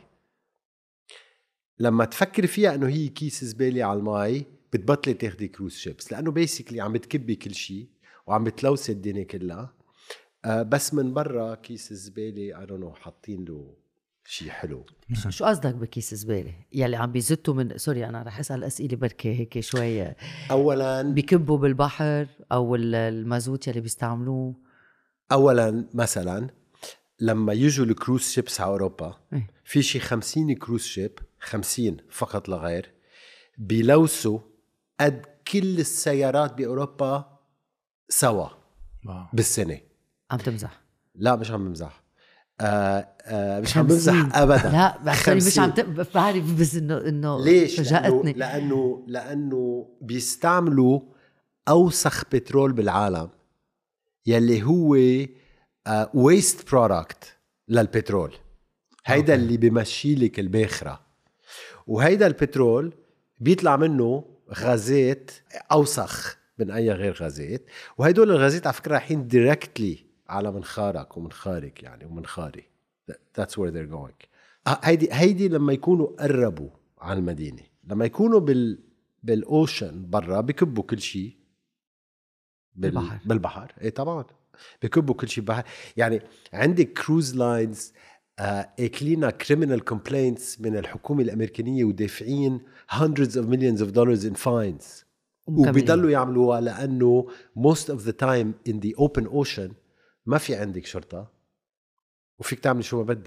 لما تفكر فيها انه هي كيس زبالة على الماء بتبطلي تاخدي كروز شيبس، لانه بيسيكلي عم بتكبي كل شيء وعم بتلوث الدنيا كلها. آه بس من برا كيس الزبالة I don't know حاطين له شيء حلو. شو قصدك بكيس زبالة؟ يلي عم بيزتوا من سوري أنا رح أسأل أسئلة بركة هيك شوية. أولاً بيكبوا بالبحر أو المازوت يلي بيستعملوه. أولاً مثلاً لما يجوا الكروز شيبس على أوروبا في شي خمسين كروز شيب خمسين فقط لغير بيلوثوا قد كل السيارات بأوروبا سوا بالسنة. عم تمزح؟ لا مش عم بمزح. آه آه مش عم بمزح ابدا. لا بس مش عم بعرف بس انه انه ليش؟ فاجأتني. لأنه, لانه لانه بيستعملوا اوسخ بترول بالعالم يلي هو ويست برودكت للبترول. هيدا اللي بيمشي لك الباخرة، وهيدا البترول بيطلع منه غازات اوسخ من اي غير غازات، وهيدول الغازات على فكرة رايحين دايركتلي على منخارك ومنخارك يعني ومنخاري. That's where they're going. هيدي هيدي لما يكونوا قربوا على المدينة. لما يكونوا بال بالاوشن برا بيكبوا كل شيء بال... بالبحر. بالبحر ايه طبعا بيكبوا كل شيء بحر. يعني عندك كروز لاينز اكلينا كريمينال كومبلينتس من الحكومة الأمريكانية ودافعين hundreds of millions of dollars in fines وبيضلوا يعملوها لأنه most of the time in the open ocean ما في عندك شرطة وفيك تعمل شو ما بدك.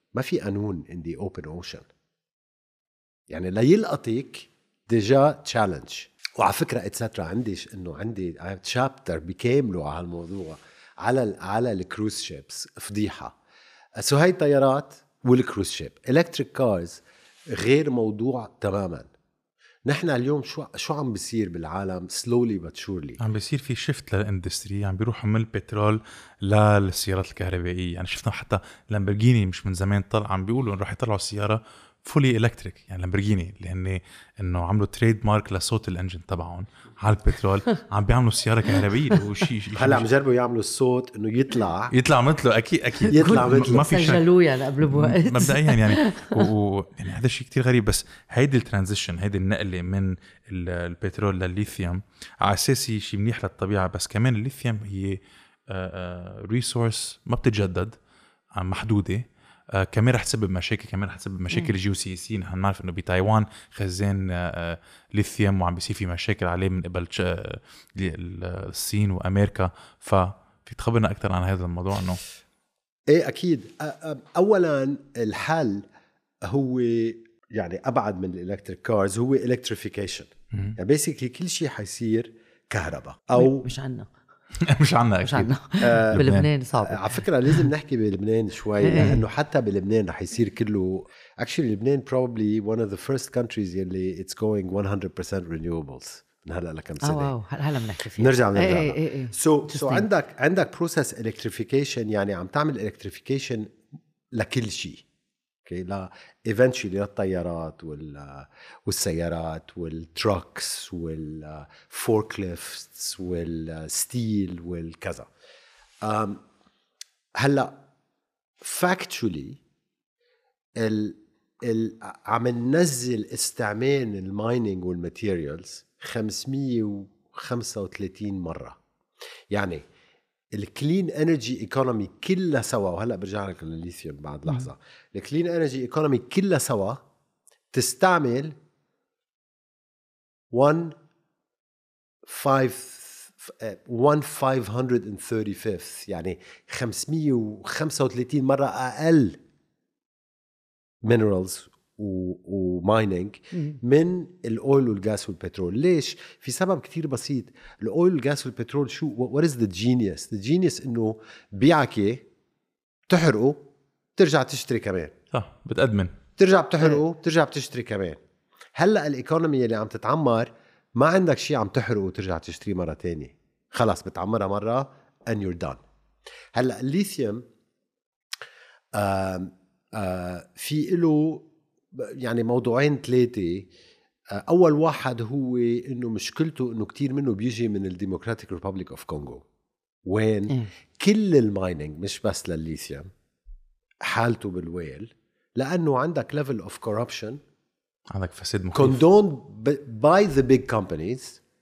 ما في قانون in the open ocean. يعني لا يلقطك ديجا تشالنج. وعلى فكرة اتسترا عنديش انه عندي شابتر بكامله على الموضوع على ال على الكروز شيبس. فضيحة. سو هاي الطيارات والكروز شيب الكتريك كارز غير موضوع تماما. نحن اليوم شو شو عم بيصير بالعالم سلولي بات شورلي، عم بيصير في شيفت للاندستري، عم بيروحوا من البترول للسيارات الكهربائيه. يعني شفنا حتى لامبورجيني مش من زمان طلع عم بيقولوا انه راح يطلعوا سياره فولي الكتريك، يعني لامبورجيني لان انه عملوا تريد مارك لصوت الانجن تبعهم على البترول، عم بيعملوا سياره كهربائيه وشيء هلا عم جربوا يعملوا الصوت انه يطلع يطلع مثله. اكيد اكيد يطلع مثله، ما في شك سجلوه يعني قبل بوقت مبدئيا يعني و... يعني هذا الشيء كتير غريب. بس هيدي الترانزيشن، هيدي النقله من البترول للليثيوم على اساسي شيء منيح للطبيعه، بس كمان الليثيوم هي ريسورس ما بتتجدد، محدوده، آه كمان رح تسبب مشاكل، كمان رح تسبب مشاكل جيوسياسية. نحن نعرف انه بتايوان خزان آه ليثيوم وعم بيصير في مشاكل عليه من قبل آه الصين وامريكا. ففي تخبرنا اكثر عن هذا الموضوع؟ انه ايه اكيد. اولا الحل هو يعني ابعد من الالكتريك كارز، هو الكتريفيكيشن. يعني بيسيكلي كل شيء حيصير كهرباء او مش عنا مش عنا مش عنا آه بلبنان صعب. على فكرة لازم نحكي بلبنان شوي، لأنه حتى بلبنان رح يصير كله actually لبنان probably one of the first countries يلي it's going one hundred percent renewables من هلا لكم سنة. اه واو هلا بنحكي فيه. نرجع نرجع ايه ايه ايه. so so عندك عندك process electrification، يعني عم تعمل electrification لكل شيء. اوكي لا eventually للطيارات وال والسيارات والتراكس والفوركليفتس والستيل والكذا. هلا factually ال ال عم ننزل استعمال المايننج والماتيريالز خمسمية وخمسة وثلاثين مرة. يعني الكلين انرجي ايكونومي كلها سوا، وهلا برجع لك للليثيوم بعد لحظه. الكلين انرجي ايكونومي كلها سوا تستعمل one five one five hundred and thirty-fifth يعني خمسمية وخمسة وثلاثين مره اقل minerals ومايننج من الاويل والغاز والبترول. ليش؟ في سبب كتير بسيط. الاويل والغاز والبترول شو what is the genius the genius انه بيعك تحرقه ترجع تشتري كمان. صح بتأدمن، ترجع بتحرقه بترجع بتشتري كمان. هلا الايكونومي اللي عم تتعمر ما عندك شيء عم تحرقه وترجع تشتري مره تانية، خلاص بتعمرها مره and you're done. هلا الليثيوم آه آه في له يعني موضوعين ثلاثة. أول واحد هو إنه مشكلته إنه كتير منه بيجي من الديمقراطيك ريبابليك أوف كونغو، وين إيه. كل المايننج مش بس للليثيوم حالته بالويل، لأنه عندك level of corruption عندك فساد مخيف condoned by the big companies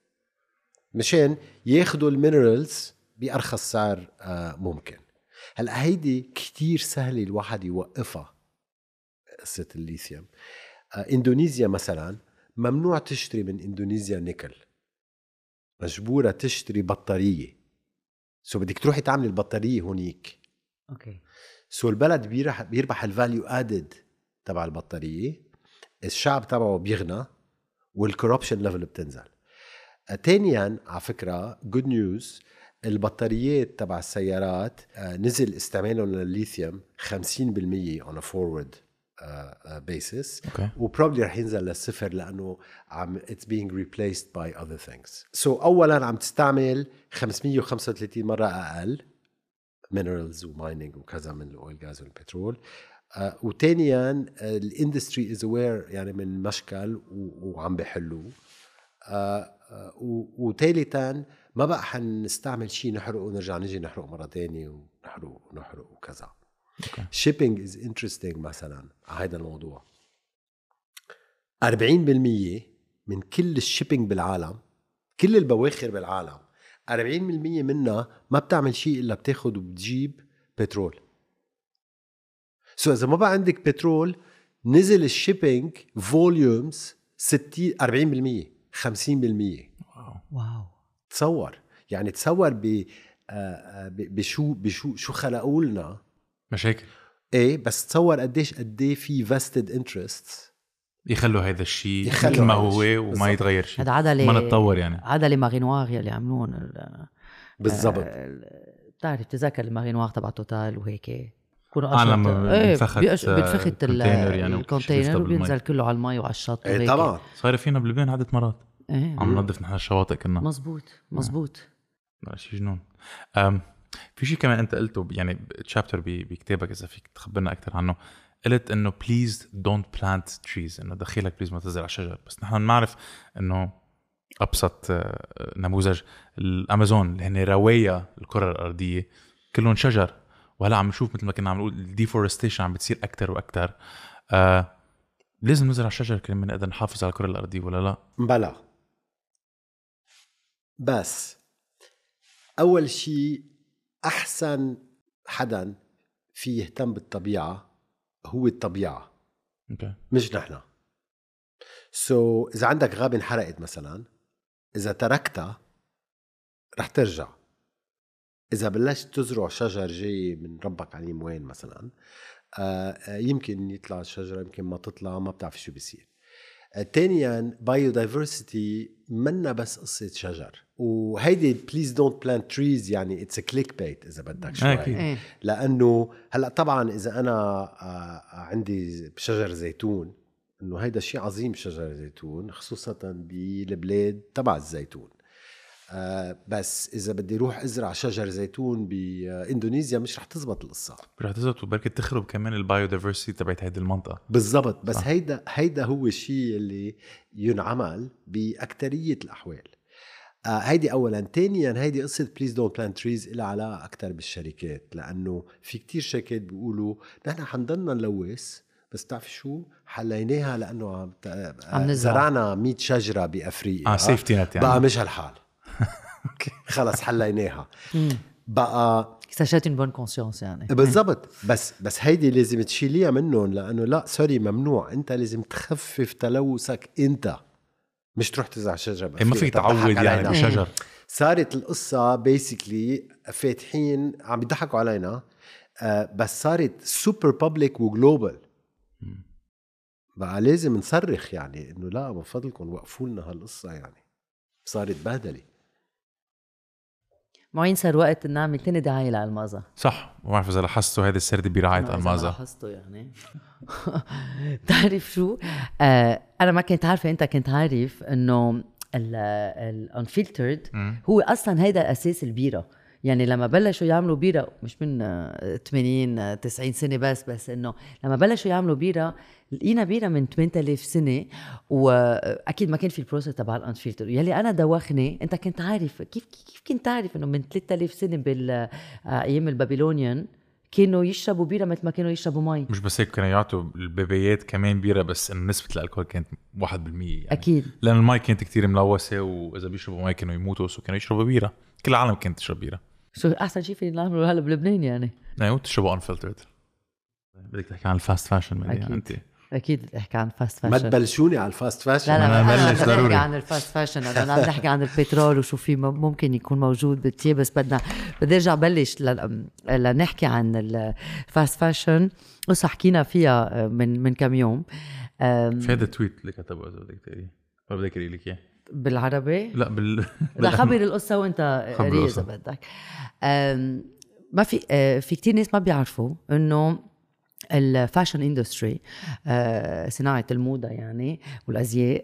مشان ياخدوا المينرالز بأرخص سعر ممكن. هلأ هيدي كتير سهلة الواحد يوقفها قصة الليثيوم. آه، إندونيسيا مثلا ممنوع تشتري من إندونيسيا نيكل، مجبورة تشتري بطارية. سو بدك تروحي تعملي البطارية هونيك. اوكي. سو البلد بيربح بيربح الفاليو ادد تبع البطارية، الشعب تبعه بيغنى، والكوربشن ليفل بتنزل. آه، تانيا على فكرة جود نيوز، البطاريات تبع السيارات آه، نزل استعمالهم للليثيوم خمسين بالمية on a forward uh, basis. okay. وبروبلي رح ينزل للصفر لأنه عم it's being replaced by other things. So أولا عم تستعمل خمسمية وخمسة وثلاثين مرة أقل minerals ومايننج وكذا من الأويل غاز والبترول. uh, وتانيا الاندستري is aware يعني من مشكل وعم بيحلوه. uh, uh, وثالثا ما بقى حنستعمل شيء نحرقه ونرجع نجي نحرقه مرة تانية ونحرقه ونحرقه وكذا. shipping is interesting مثلا على هذا الموضوع. أربعين بالمية من كل الشيبينج بالعالم، كل البواخر بالعالم، أربعين بالمية منها ما بتعمل شيء إلا بتاخد وبتجيب بترول. سو إذا ما بقى عندك بترول نزل الشيبينج فوليومز ستين أربعين بالمية خمسين بالمية. واو. تصور يعني تصور ب بشو بشو شو خلقوا لنا مشاكل. ايه بس تصور قديش قديه في vested interests يخلوا هذا الشيء يخلوا مثل ما هذا هو الشيء. وما بالزبط. يتغير شيء، هذا عدلة ما نتطور يعني. عدلة ماغينوار يلي عملون ال- بالضبط. آه، بتعرف تذكر الماغينوار تبع توتال وهيك كونوا آه، لما بينفخت، بيأش- آه، بتفخت ال- الكونتينر يعني الكونتينر وبيشتغل وبينزل بالمي. كله على المي وعلى الشط ايه وهيك. طبعا صاير فينا بلبنان عدة مرات ايه عم ننظف نحن الشواطئ كنا. مزبوط مزبوط. لا شيء جنون. أم في شيء كمان انت قلته يعني تشابتر بكتابك اذا فيك تخبرنا اكثر عنه. قلت انه please don't plant trees، انه دخيلك بليز ما تزرع شجر. بس نحن نعرف انه ابسط آه، نموذج الامازون اللي هن رواية الكرة الارضية كلهم شجر، وهلا عم نشوف مثل ما كنا عم نقول الديفورستيشن عم بتصير اكثر واكثر. آه لازم نزرع شجر كلمة نقدر نحافظ على الكرة الارضية ولا لا؟ بلا. بس أول شيء أحسن حدا في يهتم بالطبيعة هو الطبيعة اوكي. مش نحن. سو so, إذا عندك غابة انحرقت مثلا، إذا تركتها رح ترجع. إذا بلشت تزرع شجر جاي من ربك عليم وين مثلا، آه يمكن يطلع الشجرة يمكن ما تطلع، ما بتعرف شو بيصير. تانياً biodiversity منا بس قصة شجر، وهيدي please don't plant trees يعني it's a clickbait إذا بدك شوي. أكيد. لأنه هلأ طبعاً إذا أنا عندي شجر زيتون، إنه هيدا شيء عظيم شجر زيتون خصوصاً بالبلاد تبع الزيتون. آه بس إذا بدي روح أزرع شجر زيتون بإندونيسيا مش رح تزبط القصة، رح تزبط وبركة تخرب كمان البايوديفرسيتي تبعت هيدي المنطقة. بالضبط. بس صح. هيدا هيدا هو الشيء اللي ينعمل بأكترية الأحوال. آه هيدي أولاً. تانياً هيدي قصة please don't plant trees إلى علاقة أكتر بالشركات، لأنه في كتير شركات بيقولوا نحن حنضلنا نلوث بس تعرف شو حليناها لأنه عم, عم زرعنا مية شجرة بأفريقيا. اه سيفتي نت يعني. بقى مش هالحال. خلص حليناها بقى. اكتشفت une bonne conscience يعني. بالضبط. بس بس هيدي لازم تشيليها منهم، لأنه لا سوري ممنوع. أنت لازم تخفف تلوثك أنت، مش تروح تزرع شجرة ما فيك تعود يعني بشجر. صارت القصة بيسيكلي فاتحين عم يضحكوا علينا. آه بس صارت سوبر بابليك وجلوبال. بقى لازم نصرخ يعني إنه لا من فضلكم وقفوا لنا هالقصة. يعني صارت بهدلة. معين صار وقت نعمل تاني دعاية لألمازا. صح. ما بعرف إذا لاحظتوا هذه السردة برعاية ألمازا. لاحظته يعني. تعرف شو؟ آه أنا ما كنت عارفة، أنت كنت عارف إنه الانفلترد هو أصلاً هيدا أساس البيرة. يعني لما بلشوا يعملوا بيرة مش من ثمانين تسعين سنة بس بس إنه لما بلشوا يعملوا بيرة لقينا بيرة من ثمانية آلاف سنة، وأكيد ما كان في البروسيس تبع الانفلتر يلي أنا دوخني. أنت كنت عارف كيف كيف كنت عارف إنه من ثلاثة آلاف سنة بالأيام البابلونيان كانوا يشربوا بيرة مثل ما كانوا يشربوا مي. مش بس هيك، كانوا يعطوا البيبيات كمان بيرة بس إن نسبة الألكول كانت واحد بالمية يعني. أكيد. لأن المي كانت كتير ملوثة، وإذا بيشربوا مي كانوا يموتوا، سو كانوا يشربوا بيرة. كل العالم كانت تشرب بيرة. شو أحسن شيء في نعمله هلا بلبنان يعني؟ أيوة تشربوا unfiltered. بدك تحكي عن الفاست فاشن أكيد. أنت. أكيد احكي عن الفاست ما فاشن. تبلشوني على الفاست فاشن. لا لا أنا أنا بلش بدي ضروري. نحكي عن الفاست فاشن. أنا عم نحكي عن البترول وشو في ممكن يكون موجود بالتياب. بس بدنا بدي أرجع بلش لنحكي عن الفاست فاشن. قصة حكينا فيها من من كم يوم. في هذا التويت اللي كتبه إذا بدك تقري ولا بدك أقري لك إياه؟ بالعربي؟ لا بال لا خبر القصة وأنت قري إذا بدك. ما في في كتير ناس ما بيعرفوا إنه الفاشن اندستري، صناعة الموضة يعني والأزياء،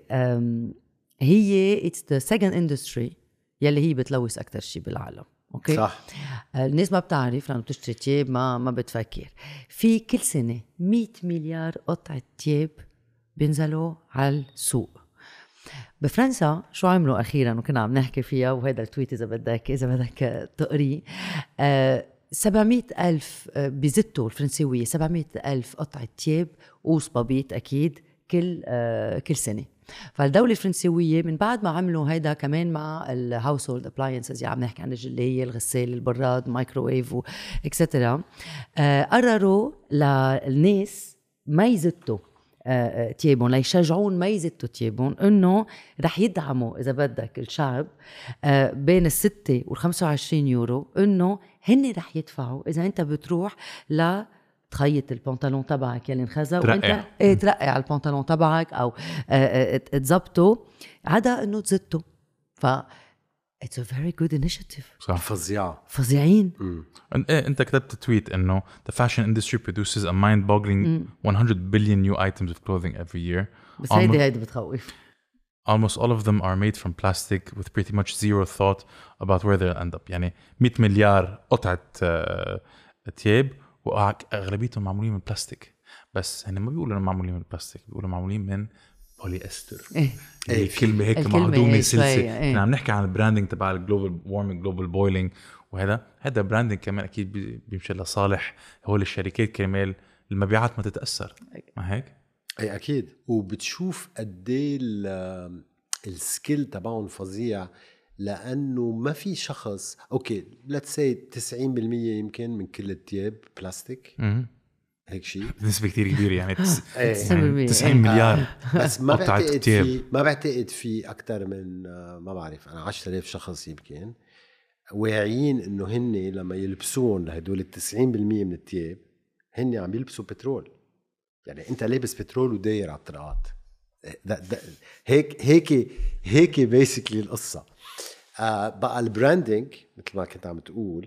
هي it's the second industry يلي هي بتلوث أكتر شيء بالعالم. أوكي؟ صح. الناس ما بتعرف لأنه بتشتري تياب ما ما بتفكر في كل سنة مية مليار قطعة تياب بينزلوا على السوق. بفرنسا شو عملوا أخيراً وكنا عم نحكي فيها، وهذا التويت إذا بدك إذا بدك تقري، أه سبعمية ألف بيزتوا الفرنسيوية سبعمية ألف قطعة تياب وصبابيط أكيد كل آه كل سنة. فالدولة الفرنسيوية من بعد ما عملوا هيدا كمان مع الهاوسهولد ابلاينسز، يعني عم نحكي عن الجلية، الغسالة، البراد، مايكروويف اكسترا، آه قرروا للناس ما يزتوا آه تيابون، ليشجعون ما يزتوا تيابون، انه رح يدعموا اذا بدك الشعب آه بين الستة والخمسة وعشرين يورو، انه هن رح يدفعوا اذا انت بتروح ل تخيط البنطلون تبعك يلي انخزى ترقع. وانت ايه ترقع على البنطلون تبعك او تزبطه عدا انه تزته. ف it's a very good initiative. صح. فظيعة فظيعين. أن- إيه أنت كتبت تويت إنه the fashion industry produces a mind-boggling one hundred billion new items of clothing every year. بس هيدي هيدي بتخوف. Almost all of them are made from plastic with pretty much zero thought about where they'll end up. يعني مية مليار قطعة آه، تياب وأغلبيتهم معمولين من بلاستيك، بس هن ما بيقولوا إنهم معمولين من بلاستيك، بيقولوا معمولين من بولي استر. إيه. هي كلمة هيك الكلمة مهضومة هي سلسة. شوية، إيه. كنا عم نحكي عن البراندنج تبع الجلوبال وارمينج جلوبال بويلينج، وهذا هذا براندنج كمان أكيد بي- بيمشي لصالح هو الشركات كرمال المبيعات ما تتأثر، ما هيك؟ اي اكيد. وبتشوف قد ايه ال- السكيل تبعهم فظيع، لانه ما في شخص اوكي ليتس سي تسعين بالمية يمكن من كل التياب بلاستيك مم. هيك شيء، نسبة كتير كبيرة يعني تس- إيه. يعني تسعين مليار. بس ما قطعة بعتقد تياب. في ما بعتقد في اكثر من آه، ما بعرف انا عشرة آلاف شخص يمكن واعيين انه هن لما يلبسون لهدول ال تسعين بالمية من التياب هن عم يلبسوا بترول. يعني انت لابس بترول وداير على الطرقات. ده ده هيك هيك هيك بيسكلي القصه. آه بقى البراندنج مثل ما كنت عم تقول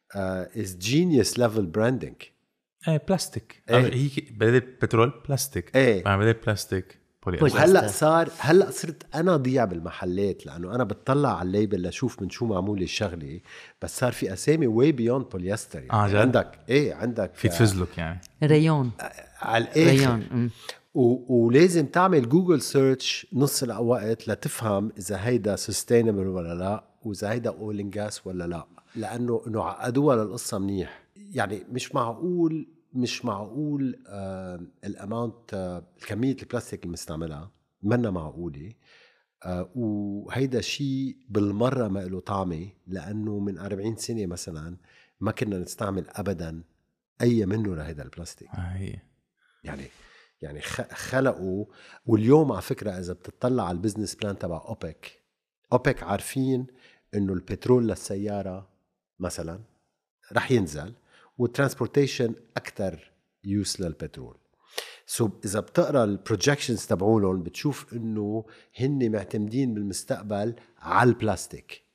از جينيوس ليفل براندنج. ايه بلاستيك. إيه. هي بدل بترول بلاستيك. إيه. مع بدل بلاستيك بولي بولي. أستر. وهلا صار هلا صرت انا ضيع بالمحلات لانه انا بتطلع على الليبل لشوف من شو معمول الشغله، بس صار في اسامي واي بيوند بوليستر. يعني آه، جد؟ عندك ايه عندك في تفزلك يعني. ريون على الاخر ريون أم. و- ولازم تعمل جوجل سيرش نص الوقت لتفهم اذا هيدا سستينبل ولا لا، واذا هيدا اول ان جاس ولا لا، لانه انه عقدوها للقصه منيح. يعني مش معقول مش معقول آه الاماونت آه كميه البلاستيك المستعملها منا معقوله. آه وهيدا شيء بالمره ما له طعمه، لانه من أربعين سنه مثلا ما كنا نستعمل ابدا اي منه لهيدا البلاستيك. آه هي. يعني يعني خلقوا. واليوم على فكرة إذا بتطلع على البزنس بلان تبع أوبك، أوبك عارفين إنه البترول للسيارة مثلا رح ينزل، والترانسبورتيشن أكتر يوس للبترول. سو إذا بتقرأ البروجكشنز تبعولهم بتشوف إنه هن معتمدين بالمستقبل على البلاستيك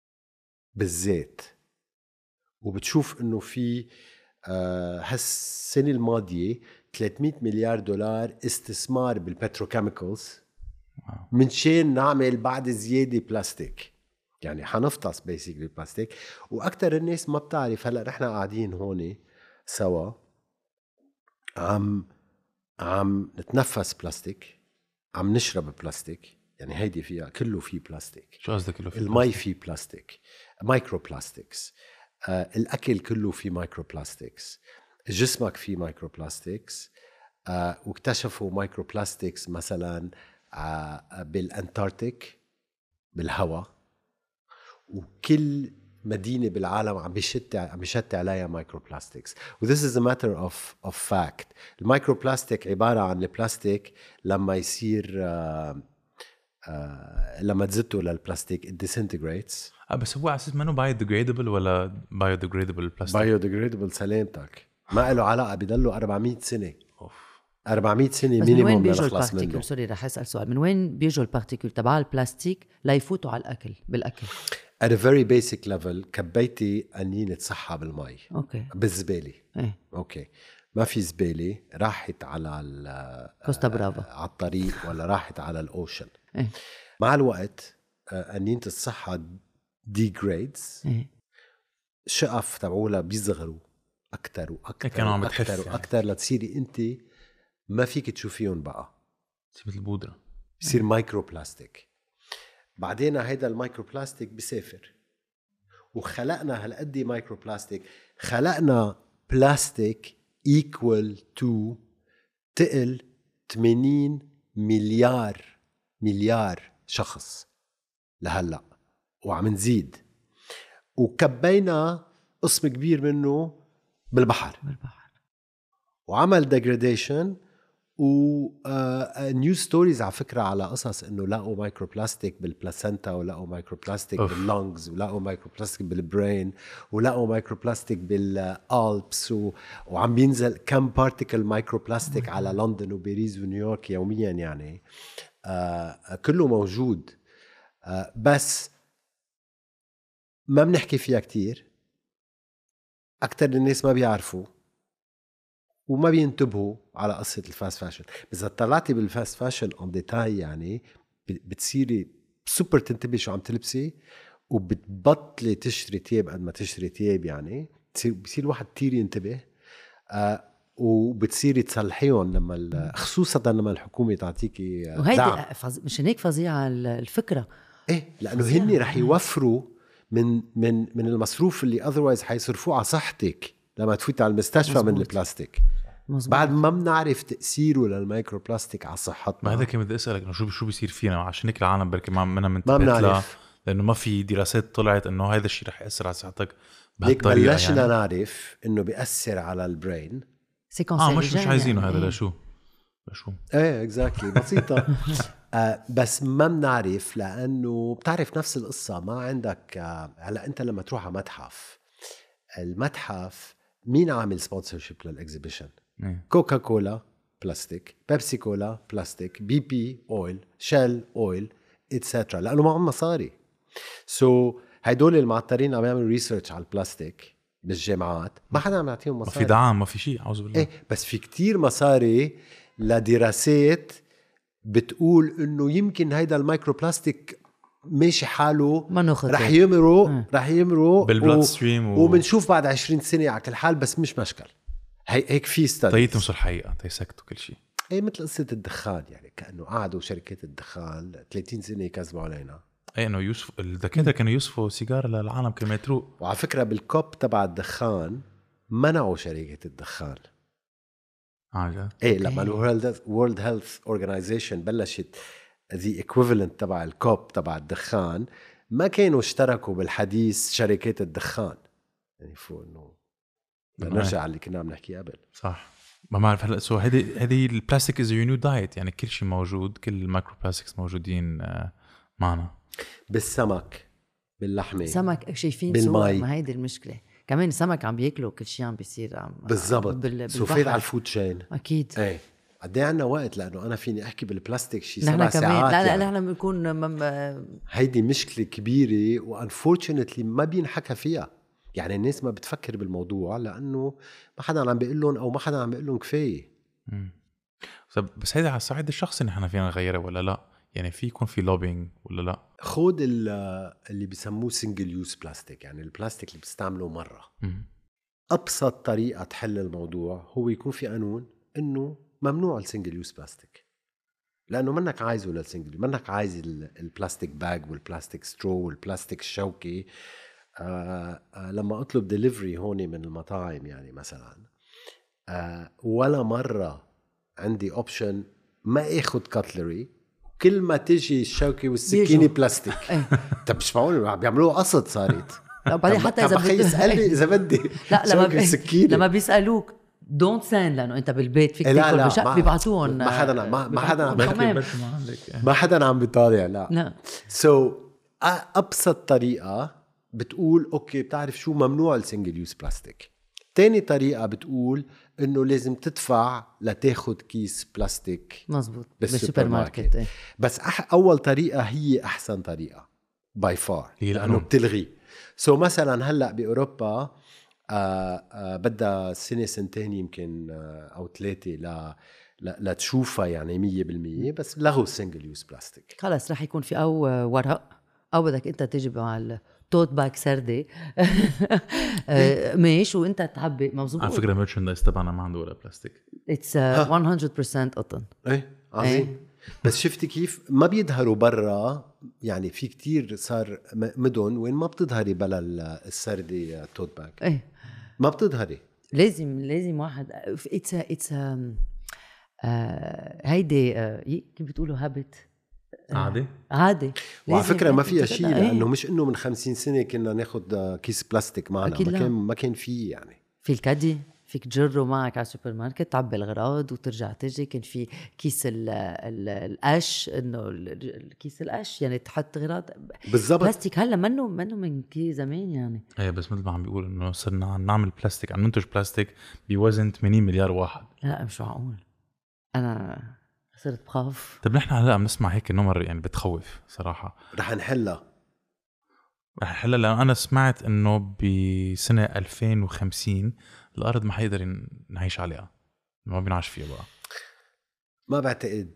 بالذات. وبتشوف إنه في آه هالسنة الماضية ثلاثمية مليار دولار استثمار بالبتروكيميكالز من شان نعمل بعد زيادة بلاستيك. يعني حنفطس بيسيكلي بلاستيك. وأكتر الناس ما بتعرف هلأ نحن قاعدين هون سوا عم عم نتنفس بلاستيك، عم نشرب بلاستيك. يعني هيدي فيها كله فيه بلاستيك. شو قصدك كله في المي فيه بلاستيك، مايكرو بلاستيكس. آه الأكل كله فيه مايكرو بلاستيكس، جسمك فيه مايكرو بلاستيكس. آه واكتشفوا مايكرو بلاستيكس مثلا آه بالأنتاركتيك بالهواء، وكل مدينة بالعالم عم بيشت عم بيشت عليها مايكرو بلاستيكس. و this is a matter of of fact. المايكرو بلاستيك عبارة عن البلاستيك لما يصير آه آه لما تزته للبلاستيك it disintegrates. آه بس هو على اساس ما انه بايوديجريدبل ولا بايوديجريدبل بلاستيك؟ بايوديجريدبل سلامتك ما له علاقة، بضلوا أربعمية سنة. أوف. أربعمية سنة بس من وين مينيموم بيجوا لنخلص منه. البارتيكل؟ سوري رح اسال سؤال، من وين بيجوا البارتيكل تبع البلاستيك ليفوتوا على الاكل بالاكل؟ at a very basic level كبيتي قنينة صحة بالمي اوكي بالزبالة. ايه اوكي ما في زبالة راحت على ال- كوستا برافا. على الطريق ولا راحت على الاوشن. ايه مع الوقت آه، قنينة الصحة degrades، ايه شقف تبعولها بيصغروا أكتر وأكتر كانوا عم بتحف وأكتر يعني. وأكتر لتصيري أنت ما فيك تشوفيهم بقى، مثل البودرة. بصير مايكرو بلاستيك. بعدين هيدا المايكرو بلاستيك بيسافر، وخلقنا هالقد مايكرو بلاستيك. خلقنا بلاستيك equal to تقل ثمانين مليار مليار شخص لهلا، وعم نزيد. وكبينا قسم كبير منه بالبحر بالبحر. وعمل degradation و نيو ستوريز على فكره على قصص انه لقوا مايكرو بلاستيك بالبلاسنتا، ولقوا مايكرو بلاستيك باللونجز، ولقوا مايكرو بلاستيك بالبرين، ولقوا مايكرو بلاستيك بالالبس، و... وعم بينزل كم بارتيكل مايكرو بلاستيك على لندن وباريس ونيويورك يوميا يعني. آه كله موجود، آه بس ما بنحكي فيها كتير. اكتر الناس ما بيعرفوا وما بينتبهوا على قصة الفاست فاشن. بس إذا طلعتي بالفاست فاشن اون ديتاي يعني بتصيري سوبر تنتبهي شو عم تلبسي، وبتبطلي تشتري تياب قد ما تشتري تياب يعني. بتصير بصير الواحد كتير ينتبه، آه وبتصيري تصلحيهم لما خصوصا لما الحكومة تعطيكي دعم. وهيدي فز... مش هيك فظيعة الفكرة. ايه لأنه هني رح يوفروا من من من المصروف اللي otherwise حيصرفوه على صحتك لما تفوت على المستشفى. مزبوط. من البلاستيك. مزبوط. بعد ما بنعرف تأثيره للمايكرو بلاستيك على صحتنا. ما هذا كان بدي أسألك إنه شو شو بيصير فينا عشان هيك العالم بركي ما منا منتبهت له، لأنه ما في دراسات طلعت إنه هذا الشيء رح يأثر على صحتك بهالطريقة. بلشنا يعني نعرف إنه بيأثر على البرين. آه مش مش عايزينه يعني. هذا لشو لشو ايه اكزاكتلي بسيطة. آه بس ما بنعرف لأنه بتعرف نفس القصة. ما عندك آه هلا أنت لما تروح على متحف، المتحف مين عامل سبونسرشيب للإكزيبيشن؟ كوكا كولا بلاستيك، بيبسي كولا بلاستيك، بي بي اويل، شيل اويل اتسترا، لأنه ما عم مصاري. سو so, هيدول المعطرين عم يعملوا ريسيرش على البلاستيك بالجامعات، ما حدا عم يعطيهم مصاري. ما في دعم، ما في شيء، أعوذ بالله. ايه بس في كتير مصاري لدراسات بتقول انه يمكن هيدا المايكرو بلاستيك ماشي حاله رح يمروا رح يمروا بالبلاد ستريم و... وبنشوف بعد عشرين سنة على كل حال. بس مش مشكل هي هيك في ستاديز طيتهم صار حقيقة تيسكتوا كل شيء. ايه مثل قصة الدخان يعني، كأنه قعدوا شركات الدخان ثلاثين سنة يكذبوا علينا. ايه انه يوسف الدكاترة كانوا يوسفوا سيجار للعالم كما يتروق. وعلى فكرة بالكوب تبع الدخان منعوا شركة الدخان. عجب. ايه لما الورلد وورلد هيلث اورجانيزيشن بلشت the equivalent تبع الكوب تبع الدخان، ما كانوا اشتركوا بالحديث شركات الدخان يعني. فوق انه نرجع على اللي كنا عم نحكي قبل. صح. ما بعرف هلا سو هذه هذه البلاستيك از يور نيو دايت يعني. كل شيء موجود، كل المايكرو بلاستكس موجودين معنا بالسمك، باللحمه، سمك شايفين صور. ما هيدي المشكله كمان، السمك عم بياكلوا كل شيء عم بيصير عم بالضبط. سوفيد على الفود تشين اكيد. ايه قد ايه عندنا وقت، لانه انا فيني احكي بالبلاستيك شيء سبع ساعات. لا لا يعني. نحن بنكون مم... هيدي مشكله كبيره وانفورشنتلي ما بينحكى فيها يعني. الناس ما بتفكر بالموضوع لانه ما حدا عم بيقول لهم او ما حدا عم بيقول لهم كفايه. بس هيدا على الصعيد الشخصي نحن فينا نغيره ولا لا؟ يعني في يكون في لوبينج ولا لا؟ خود اللي بيسموه سنجل يوز بلاستيك، يعني البلاستيك اللي بتستعمله مره. م. ابسط طريقه تحل الموضوع هو يكون في قانون انه ممنوع السنجل يوز بلاستيك، لانه منك عايزه للسنجل، منك عايز البلاستيك باج والبلاستيك سترو والبلاستيك الشوكي. آه آه لما اطلب ديليفري هون من المطاعم يعني مثلا، آه ولا مره عندي اوبشن ما اخذ كاتلري، كل ما تيجي الشوكي والسكينه بلاستيك. طب مش معقول بيعملوه قصد صارت. بعدين حتى اذا بدي يسالني اذا بدي لا لما بي... لما بيسالوك دونت ساند لانه انت بالبيت فيك تاكل بشق بيبعتوهم. ما حدا ما, ما حدا عم ما حدا عم بيطالع. لا لا سو so, ابسط طريقه بتقول اوكي بتعرف شو ممنوع السنجل يوز بلاستيك. تاني طريقه بتقول انه لازم تدفع لتاخد كيس بلاستيك مزبوط بالسوبر ماركت. ايه. بس أح اول طريقه هي احسن طريقه باي فار لانه بتلغي. سو so مثلا هلا باوروبا آه آه بدها سنه سنتين يمكن آه او ثلاثه لا لا لتشوفها يعني مية بالمية، بس لغوا السنجل يوز بلاستيك. خلص رح يكون في او ورق او بدك انت تجي مع التوت باك سردي ماشي وانت تحبي مبسوط. على فكره الميرشندايز تبعنا ما عنده ولا بلاستيك. اتس مية بالمية قطن. ايه عظيم. ايه. بس شفتي كيف ما بيظهروا برا يعني. في كتير صار مدن وين ما بتظهري بلا السردي توت باك. ايه ما بتظهري. لازم لازم واحد اتس اتس هيدي كيف بتقولوا هابت عادي عادي. وعلى فكرة ما فيها شيء لأنه مش إنه من خمسين سنة كنا ناخد كيس بلاستيك معنا. ما كان ما كان فيه يعني. في الكادي فيك تجره معك على السوبر ماركت تعبي الغراض وترجع تجي. كان في كيس ال ال القش انه الكيس القش يعني تحط غراض بالضبط. بلاستيك هلا منه منه من كثير زمان يعني. ايه بس مثل ما عم بيقول انه صرنا عم نعمل بلاستيك، عم ننتج بلاستيك بوزن ثمانين مليار واحد. لا مش معقول، انا صرت بخاف. طب نحن هلا عم نسمع هيك نمر يعني بتخوف صراحه. رح نحلها رح نحلها لأن أنا سمعت إنه بسنة ألفين وخمسين الأرض ما حيقدر نعيش عليها، ما بنعيش فيها بقى. ما بعتقد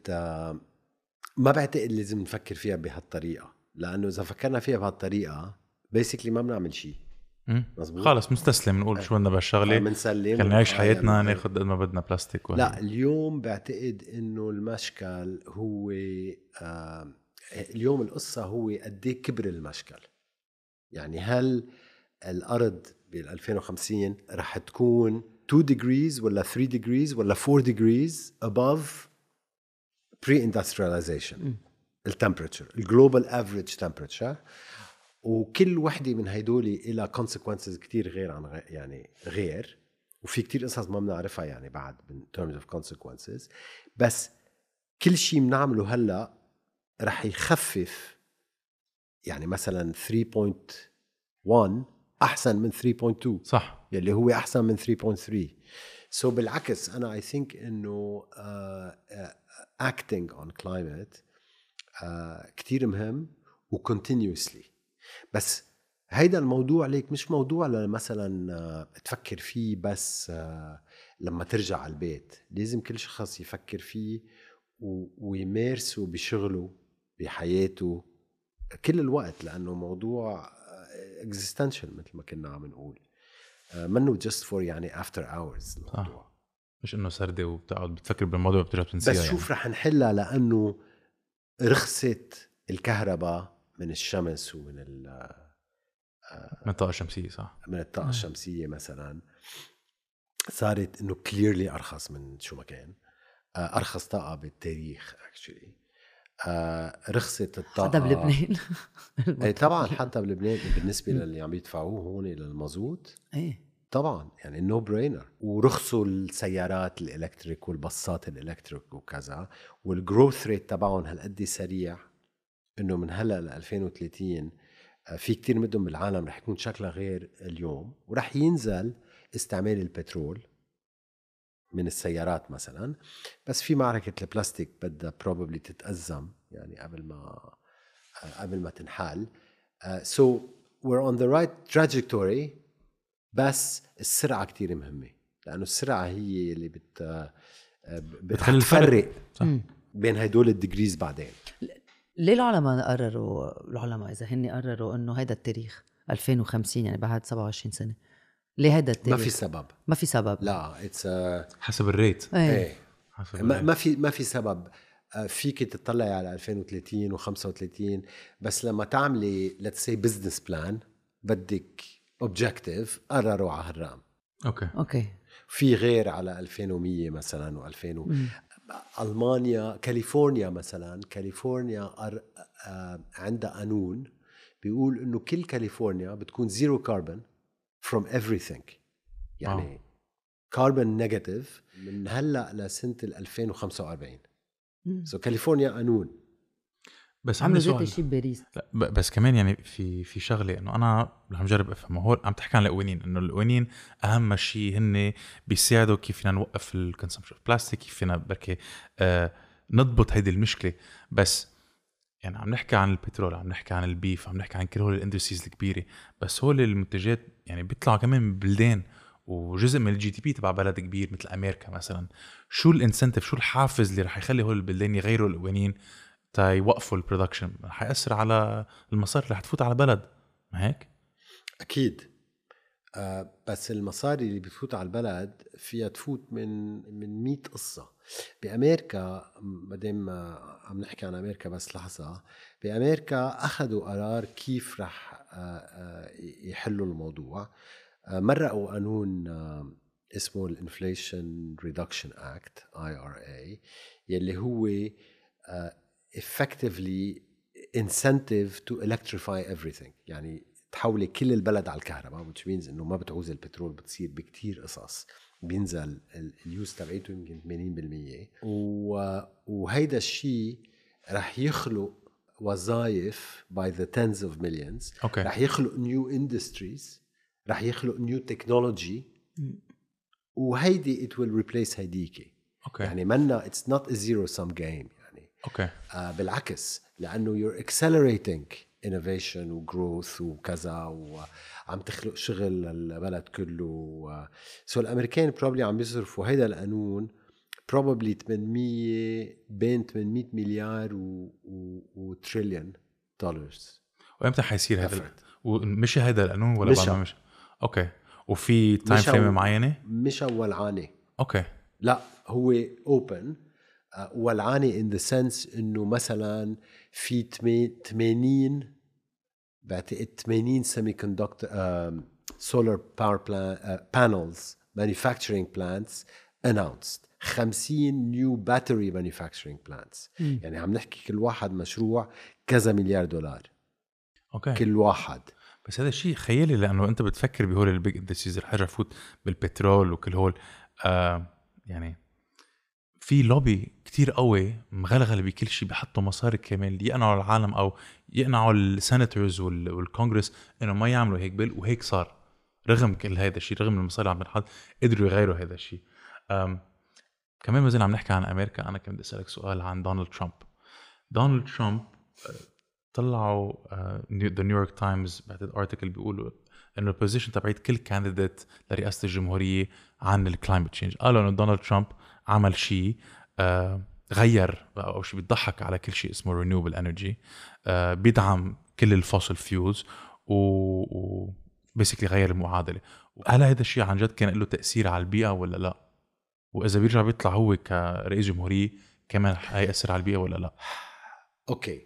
ما بعتقد لازم نفكر فيها بهالطريقة، لأنه إذا فكرنا فيها بهالطريقة بيسيكلي ما بنعمل شيء. مزبوط. خالص مستسلم نقول شو بدنا بهالشغلة، منسلم نعيش حياتنا ناخد قد ما بدنا بلاستيك وهي. لا اليوم بعتقد إنه المشكل هو آه اليوم القصة هو قديه كبر المشكل. يعني هل الأرض بال2050 رح تكون two degrees ولا three degrees ولا four degrees above pre-industrialization التمبريتشر الجلوبال افريج تمبريتشر، وكل وحده من هيدولي إلى consequences كتير غير عن غير يعني غير وفي كتير قصص ما بنعرفها يعني بعد من terms of consequences. بس كل شيء بنعمله هلا رح يخفف، يعني مثلا three point one احسن من three point two صح، يلي هو احسن من three point three. so بالعكس انا I think انه uh, uh, acting on climate uh, كتير مهم و continuously. بس هيدا الموضوع ليك مش موضوع مثلا uh, تفكر فيه بس uh, لما ترجع على البيت، لازم كل شخص يفكر فيه ويمارسه بشغله بحياته كل الوقت، لأنه موضوع existential مثل ما كنا عم نقول، منه just for يعني after hours الموضوع. مش إنه سردة وبتقعد بتفكر بالموضوع وبترجع تنسيها. بس شوف يعني. رح نحلها لأنه رخصت الكهرباء من الشمس ومن من الطاقة الشمسية. صح، من الطاقة الشمسية مثلا صارت إنه clearly أرخص من شو ما كان، أرخص طاقة بالتاريخ actually. آه رخصت الطاقة حتى بلبنان. اي طبعا حتى بلبنان بالنسبة للي عم يدفعوه هون للمازوت ايه طبعا يعني نو برينر. ورخصوا السيارات الالكتريك والباصات الالكتريك وكذا، والجروث ريت تبعهم هالقد سريع انه من هلا ل ألفين وثلاثين في كتير مدن بالعالم رح يكون شكلها غير اليوم، ورح ينزل استعمال البترول من السيارات مثلا. بس في معركة البلاستيك بدها probably تتأزم يعني قبل ما قبل ما تنحل. uh, so we're on the right trajectory، بس السرعة كتير مهمة، لأنه السرعة هي اللي بت بتخلي الفرق بين هيدول الديجريز. بعدين ليه العلماء قرروا العلماء إذا هني قرروا إنه هيدا التاريخ ألفين وخمسين يعني بعد سبعة وعشرين سنة، ليه هيدا التاريخ؟ ما في سبب ما في سبب لا it's a... حسب الريت. ايه, ايه. حسب ما, الريت. ما في ما في سبب. فيك تطلعي على ألفين وثلاثين وخمسة وثلاثين، بس لما تعملي let's say business plan بدك objective قرروا على هالرقم. اوكي اوكي في غير على ألفين ومية مثلا و2000 و... ألمانيا كاليفورنيا مثلا، كاليفورنيا أر... آه... عندها قانون بيقول إنه كل كاليفورنيا بتكون zero carbon from everything، يعني carbon negative من هلأ لسنة ألفين وخمسة وأربعين. سو so كاليفورنيا قانون. بس عملوا عندي زيت سؤال. الشيء بباريس. بس كمان يعني في في شغله انه انا عم جرب افهمه. هو عم تحكي عن القوانين، انه القوانين اهم شيء هن بيساعدوا كيف فينا نوقف الكونسومشن بلاستيك، كيف فينا بركي آه نضبط هيدي المشكله. بس يعني عم نحكي عن البترول، عم نحكي عن البيف، عم نحكي عن كل هول الاندستريز الكبيره، بس هول المنتجات يعني بيطلعوا كمان من بلدان وجزء من الجي دي بي تبع بلد كبير مثل امريكا مثلا. شو الانسنتيف، شو الحافز اللي رح يخلي هول البلدان يغيروا القوانين تا يوقفوا البرودكشن؟ رح يأثر على المصاري اللي حتفوت على البلد، ما هيك؟ أكيد. آه بس المصاري اللي بتفوت على البلد فيها تفوت من من مية قصة. بأمريكا مادام عم نحكي عن أمريكا بس لحظة، بأمريكا أخذوا قرار كيف رح آه آه يحلوا الموضوع. آه مرقوا قانون آه اسمه الانفليشن ريدكشن اكت آي آر إيه، يلي هو آه effectively incentive to electrify everything، يعني تحولي كل البلد على الكهرباء، which means انه ما بتعوز البترول، بتصير بكتير قصص بينزل اليوز تبعيته يمكن ثمانين بالمية، وهيدا الشيء رح يخلق وظائف by the tens of millions. أوكي. رح يخلق new industries، رح يخلق new technology، وهيدي it will replace هيديكي. أوكي. يعني منا it's not a zero sum game يعني. أوكي. آه بالعكس، لأنه you're accelerating innovation و growth وكذا، وعم تخلق شغل للبلد كله. سو الأمريكان probably عم يصرفوا هيدا القانون probably ثمانمية بين ثمانمية مليار و, و, و تريليون دولارز. وإمتى حيصير هذا؟ ومشي هيدا القانون ولا مشا. بعد ما مشي؟ أوكي. وفي تايم فريم معينة؟ مش أول عانة. أوكي. لا هو open ولعانة in the sense إنه مثلا في ثمانين بعتقد ثمانين semiconductor uh, solar power plant, uh, panels manufacturing plants announced. خمسين new battery manufacturing plants. م. يعني عم نحكي كل واحد مشروع كذا مليار دولار. أوكي. كل واحد. بس هذا الشيء خيالي، لأنه أنت بتفكر بهول البيج اندستريز رح يرجع فوت بالبترول وكل هول آه يعني في لوبي كتير قوي مغلغل بكل شيء، بيحطوا مصاري كمان يقنعوا العالم او يقنعوا السيناتورز والكونغرس انه ما يعملوا هيك بيل، وهيك صار رغم كل هذا الشيء، رغم المصاري عم بنحط قدروا يغيروا هذا الشيء. كمان ما زلنا عم نحكي عن امريكا. انا كنت بدي اسالك سؤال عن دونالد ترامب. دونالد ترامب طلعوا ذا نيويورك تايمز بعد ارتكل بيقولوا انه البوزيشن تبعت كل كانديديت لرئاسه الجمهوريه عن الكلايمت تشينج. قالوا انه دونالد ترامب عمل شيء آه غير او شيء بيضحك على كل شيء اسمه رينيوبل انرجي، آه بيدعم كل الفوسل فيولز و بيسكلي غير المعادله. هل هذا الشيء عن جد كان له تاثير على البيئه ولا لا؟ واذا بيرجع بيطلع هو كرئيس جمهوريه كمان هيأثر على البيئه ولا لا؟ اوكي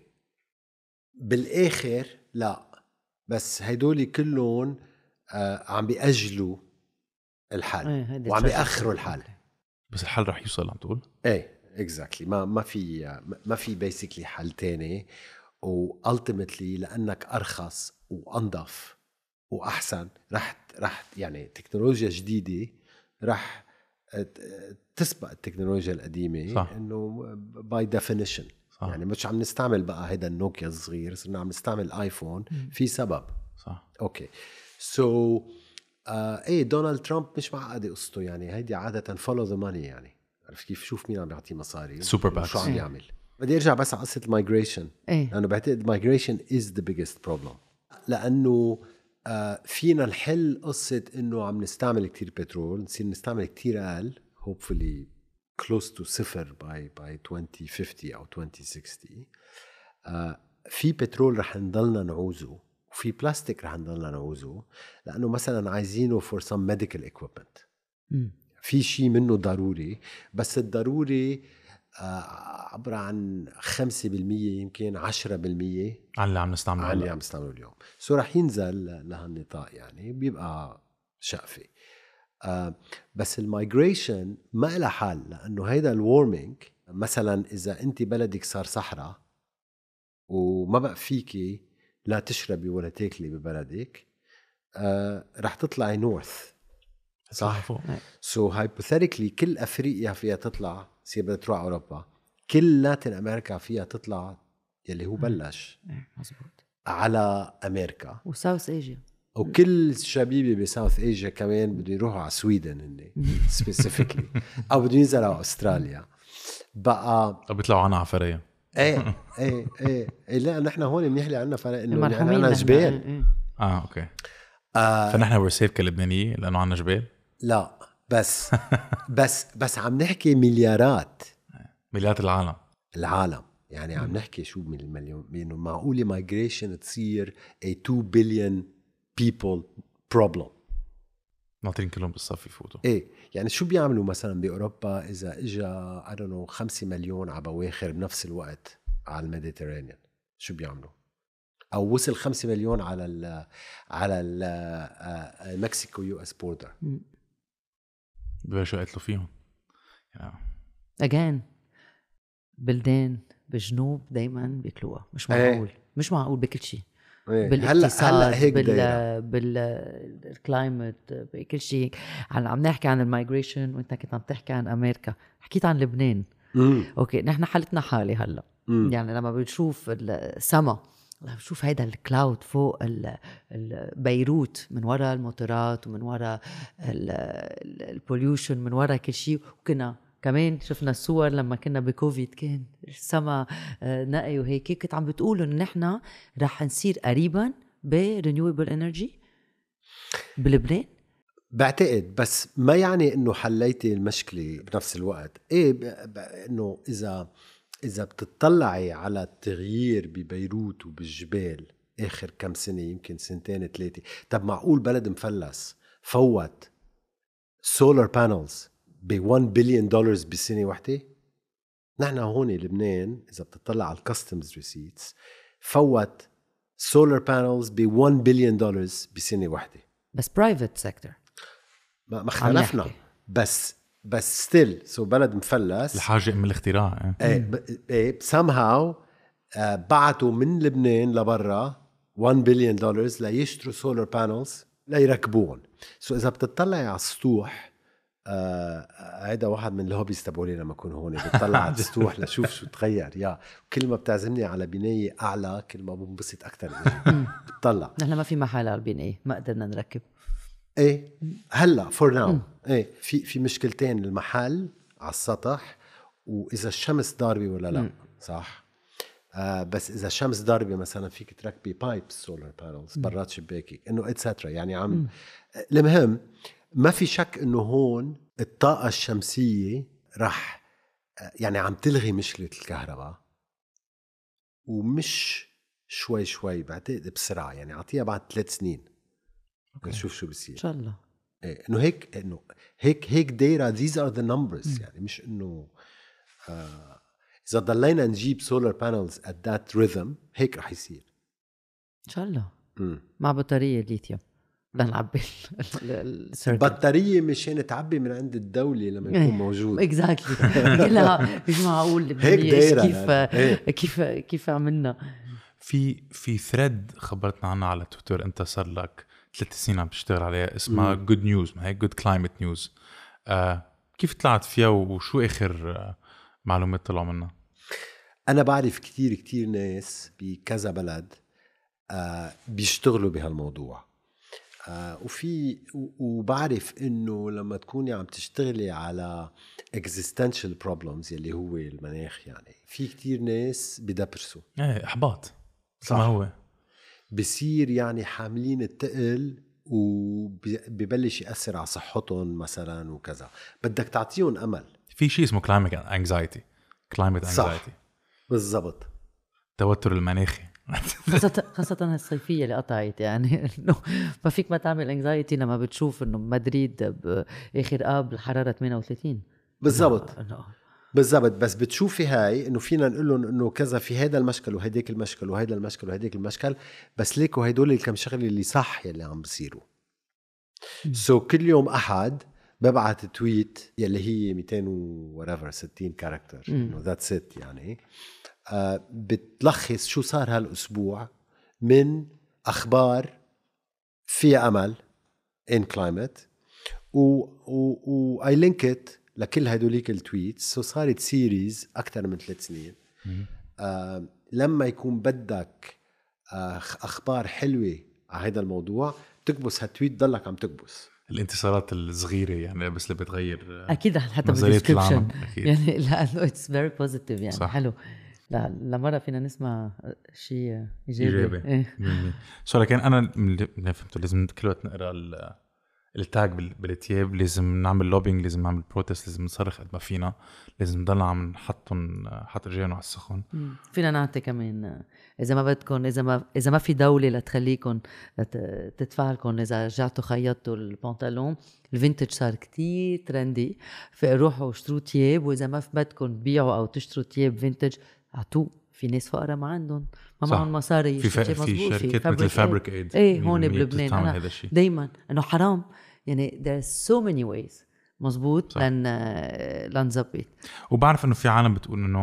بالاخر لا، بس هيدول كلهم آه عم بيأجلوا الحل ايه وعم بيأخروا الحل. بس الحل رح يوصل عم تقول؟ ايه اكزاكتلي. ما ما في ما في بيسكلي حل تاني. والتيمتلي لانك ارخص وانظف واحسن رح رح يعني تكنولوجيا جديده رح تسبق التكنولوجيا القديمه. انه باي ديفينيشن يعني مش عم نستعمل بقى هيدا النوكيا الصغير، صرنا عم نستعمل ايفون في سبب. صح. اوكي سو so, آه ايه دونالد ترامب مش معقده قصته يعني. هيدي عاده فولو ذا ماني يعني. عرف كيف؟ شوف مين عم بيعطيه مصاري سوبر باكس شو عم يعمل. بدي ارجع بس على قصه المايجريشن ايه. لانه بعتقد المايجريشن از ذا بيجست بروبلم. لانه آه فينا نحل قصه انه عم نستعمل كتير بترول، نصير نستعمل كتير اقل hopefully close to صفر by by twenty fifty او twenty sixty. آه في بترول رح نضلنا نعوزه وفي بلاستيك رح نضلنا نعوزه، لأنه مثلا عايزينه for some medical equipment. م. في شيء منه ضروري، بس الضروري آه عبارة عن خمسة بالمية يمكن عشرة بالمية عن اللي عم نستعمله عن اللي عم نستعمله اليوم. سو رح ينزل لهالنطاق يعني بيبقى شقفة. آه بس المايجريشن ما إلها حل، لأنه هيدا الوارمينج مثلا إذا أنت بلدك صار صحراء وما بقى فيكي لا تشربي ولا تاكلي ببلدك، آه رح تطلعي نورث. صح. سو so هايبوثيتيكلي كل افريقيا فيها تطلع، سير بدها تروح اوروبا، كل لاتين امريكا فيها تطلع يلي هو بلش مزبوط على امريكا وساوث ايجيا، وكل شبيبي بساوث ايجيا كمان بده يروحوا على سويدن هني سبيسيفيكلي او بده ينزلوا على استراليا بقى او بيطلعوا عنا عفريه. ايه ايه ايه ايه لا نحن هون منيحلي عنا فرق انه عنا جبال. اه اوكي. آه فنحن ورسيف كلبنانية لانه عنا جبال. لا بس بس بس عم نحكي مليارات مليارات العالم العالم يعني عم نحكي شو من المليون، انه معقوله مايجريشن تصير a two billion people problem ناطرين كلهم بالصف يفوتوا. ايه يعني شو بيعملوا مثلا باوروبا اذا اجى I don't know خمسة مليون على بواخر بنفس الوقت على الميديترينيان؟ شو بيعملوا؟ او وصل خمسة مليون على ال على ال مكسيكو يو اس بوردر ببلشوا يقتلوا فيهم. اجين بلدان بالجنوب دايما بياكلوها. مش معقول. ايه. مش معقول بكل شيء بالاقتصاد هلا هيك بال بالكلايمت بكل شيء. عم نحكي عن المايجريشن وانت كنت عم تحكي عن امريكا، حكيت عن لبنان. مم. اوكي نحن حالتنا حالي هلا. مم. يعني لما بنشوف السما، لما بنشوف هيدا الكلاود فوق بيروت من وراء الموتورات ومن وراء البوليوشن من وراء كل شيء. وكنا كمان شفنا الصور لما كنا بكوفيد كان السما نقي وهيك. كنت عم بتقولوا ان نحن رح نصير قريبا برينيوبل انرجي بلبنان. بعتقد، بس ما يعني انه حليتي المشكله بنفس الوقت. ايه ب... ب... انه اذا اذا بتطلعي على التغيير ببيروت وبالجبال اخر كم سنه، يمكن سنتين ثلاثه، طب معقول بلد مفلس فوت سولار بانلز ب واحد بليون دولار بسنه واحده؟ نحن هون لبنان اذا بتطلع على الكاستمز ريسيتس فوت سولار بانلز ب واحد بليون دولار بسنه واحده. بس برايفت سيكتور ما اختلفنا، بس بس ستيل سو بلد مفلس. الحاجة من الاختراع. ايه ايه somehow آه بعتوا من لبنان لبرا واحد بليون دولار ليشتروا سولار بانلز ليركبوهم. سو اذا بتطلعي على السطوح، هيدا آه واحد من الهوبيز تبعولي لما اكون هون، بتطلع على السطوح لشوف شو تغير. يا كل ما بتعزمني على بنايه اعلى كل ما بنبسط اكثر. بتطلع نحن ما في محل على البنايه، ما قدرنا نركب. ايه هلا فور ناو ايه في في مشكلتين، المحل على السطح واذا الشمس ضاربه ولا لا. م. صح. آه بس اذا الشمس ضاربه مثلا فيك تركبي بايبس سولار بانلز برات شباكك انه اتسترا. يعني عم م. المهم ما في شك انه هون الطاقه الشمسيه رح يعني عم تلغي مشكله الكهرباء، ومش شوي شوي، بعتقد بسرعه. يعني اعطيها بعد ثلاث سنين نشوف شو بصير ان شاء الله. إيه انه هيك انه هيك هيك دايره. these are the numbers. يعني مش انه آه اذا ضلينا نجيب سولار بانلز at that rhythm هيك رح يصير ان شاء الله. م. مع بطاريه ليثيوم لنعبي السيركل. بطاريه مشان تعبي من عند الدوله لما يكون موجود. اكزاكتلي. كلها مش معقول هيك دايره كيف كيف كيف عملنا. في في ثريد خبرتنا عنها على تويتر، انت صار لك ثلاث سنين عم تشتغل عليها، اسمها جود نيوز، ما هي جود كلايمت نيوز. كيف طلعت فيها وشو اخر آه معلومات طلعوا منها؟ انا بعرف كتير كتير ناس بكذا بلد آه بيشتغلوا بهالموضوع، آه وفي وبعرف انه لما تكوني عم تشتغلي على existential problems يلي هو المناخ، يعني في كتير ناس بدبرسوا. ايه احباط. صح. ما هو بصير يعني حاملين التقل وبيبلش يأثر على صحتهم مثلا وكذا. بدك تعطيهم أمل. في شيء اسمه climate anxiety climate anxiety. صح بالضبط. توتر المناخي. خاصة خاصة الصيفية اللي قطعت، يعني إنه ما فيك ما تعمل anxiety لما بتشوف إنه مدريد بآخر آب الحرارة ثمانية وثلاثين. بالضبط بالضبط. بس بتشوفي هاي انه فينا نقول لهم انه كذا في هذا المشكل وهيديك المشكل وهيدا المشكل وهيديك المشكل، بس ليكوا هيدول الكم شغله اللي صح يلي عم بصيروا. سو so, كل يوم احد ببعث تويت يلي هي مئتين وريفر ستين كاركتر انه ذاتس ات، يعني آه بتلخص شو صار هالاسبوع من اخبار فيها امل ان كلايمت، و و اي لينكت لكل هدوليك التويتس. سو صارت سيريز أكتر من ثلاث سنين. آه لما يكون بدك آه أخبار حلوة على هذا الموضوع تكبس هالتويت ضلك عم تكبس. الانتصارات الصغيرة يعني بس اللي بتغير أكيد حتى بالديسكريبشن يعني لأنه it's very positive يعني. صح. حلو. لا لمرة فينا نسمع شيء إيجابي. إيه. سو لكن أنا اللي فهمته لازم كل وقت نقرأ التاج بالتياب، لازم نعمل لوبينج، لازم نعمل بروتست، لازم نصرخ قد ما فينا، لازم نضلنا عم نحطهم حط رجالنا على السخن. فينا نعطي كمان اذا ما بدكم، اذا ما اذا ما في دوله لتخليكم تدفع لكم، اذا رجعتوا خيطتوا البنطلون الفينتج صار كتير ترندي، فروحوا اشتروا تياب، واذا ما بدكم تبيعوا او تشتروا تياب فينتج اعطوه. في ناس فقراء ما عندهم ما معهم مصاري، في, في, في شركات مثل فابريك ايد ايه هون بلبنان. انا دايما انه حرام يعني there's so many ways مزبوط لن لنزبط. وبعرف انه في عالم بتقول انه